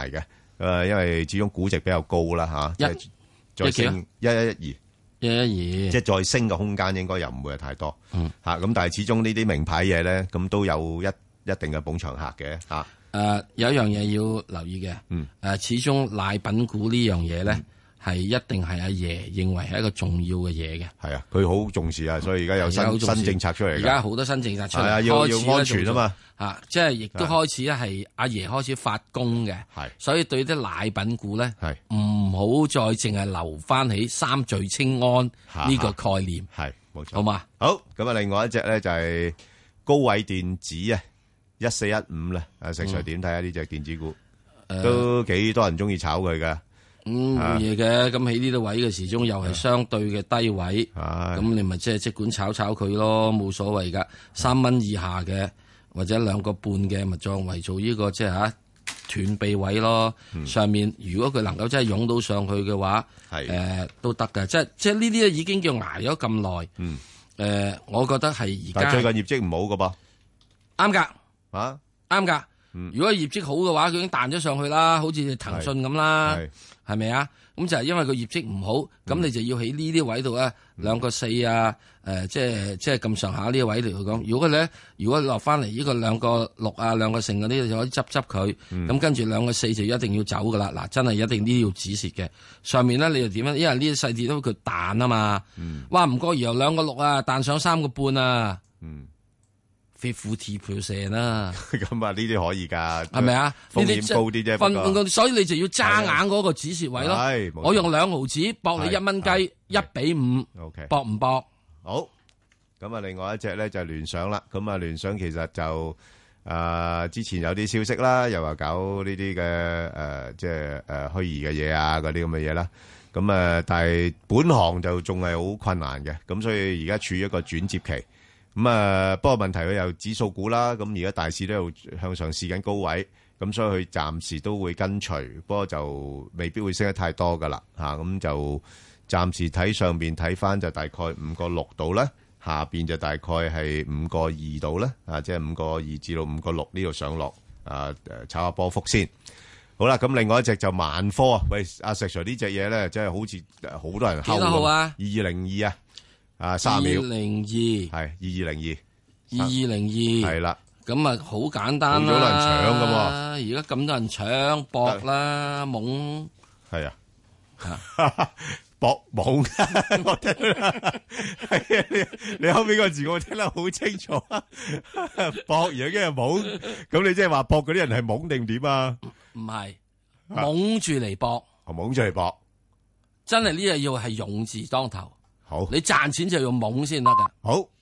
誒，因為始終估值比較高啦吓， 一再升一一一二， 一一二， 即係再升嘅空間應該又唔會係太多。 嗯， 吓咁，但係始終呢啲名牌嘢咧，咁都有一一定嘅捧場客嘅吓。 誒，有一樣嘢要留意嘅， 嗯， 誒，始終奶品股呢樣嘢咧。係一定係阿爺認為係一個重要嘅嘢嘅。 係啊，佢好重視啊，所以而家有新新政策出嚟。而家好多新政策出嚟， 係啊，要要安全啊嘛。 啊，即係亦都開始咧，係阿爺開始發功嘅。 係， 所以對啲奶品股咧， 係唔好再淨係留翻起三聚氰胺呢個概念。 係，冇錯。 好嘛？ 好，咁啊，另外一隻咧就係高偉電子啊，一四一五啦。阿石 Sir 點睇下呢隻電子股？都幾多人中意炒佢噶。 咁冇嘢嘅，咁喺呢啲位嘅時鐘又係相對嘅低位，咁你咪即係即管炒炒佢咯，冇所謂噶。三蚊以下嘅或者兩個半嘅，咪作為做呢個即係吓斷臂位咯。上面如果佢能夠真係湧到上去嘅話，誒都得㗎。即係即係呢啲已經叫挨咗咁耐。誒，我覺得係而家最近業績唔好噶噃， 啱噶， 啊啱噶。如果業績好嘅話，佢已經彈咗上去啦，好似騰訊咁啦，係咪啊？咁就係因為佢業績唔好，咁你就要喺呢啲位度咧，兩個四啊，誒，即係即係咁上下呢個位嚟去講。如果咧，如果落翻嚟呢個兩個六啊，兩個成嗰啲就可以執執佢。咁跟住兩個四就一定要走噶啦。嗱，真係一定呢啲要止蝕嘅。上面咧你又點樣？因為呢啲細節都佢彈啊嘛。哇，唔過由兩個六啊，彈上三個半啊。fifty percent 啦， 咁啊呢啲可以噶， 係咪啊？ 風險高啲啫， 分所以你就要揸硬嗰個止蝕位咯。我用兩毫子搏你一蚊雞，一比五，搏唔搏？ 好，咁啊，另外一隻咧就係聯想啦。咁啊，聯想其實就誒之前有啲消息啦，又話搞呢啲嘅誒，即係誒虛擬嘅嘢啊，嗰啲咁嘅嘢啦。咁啊，但係本行就仲係好困難嘅，咁所以而家處於一個轉接期。咁啊，不過問題佢有指數股啦，咁而家大市都有向上試緊高位，咁所以佢暫時都會跟隨，不過就未必會升得太多噶啦，吓咁就暫時睇上邊睇翻就大概五個六度啦，下邊就大概係五個二度啦，啊即係五個二至到五個六呢度上落，啊誒炒下波幅先。好啦，咁另外一隻就萬科啊，喂阿石 Sir 呢隻嘢咧，真係好似好多人睺。幾多號啊？二二零二啊。啊，三秒，二零二係二二零二， 二二零二係啦，咁啊好簡單啦， 好多人搶噶嘛， 而家咁多人搶搏啦，懵係啊，搏懵，我聽係啊，你你後邊個字我聽得好清楚啊，搏完跟住懵，咁你即係話搏嗰啲人係懵定點啊？ 唔係懵住嚟搏， 懵住嚟搏， 真係呢日要係勇字當頭。 好， 你賺錢就要懵先得噶。 好。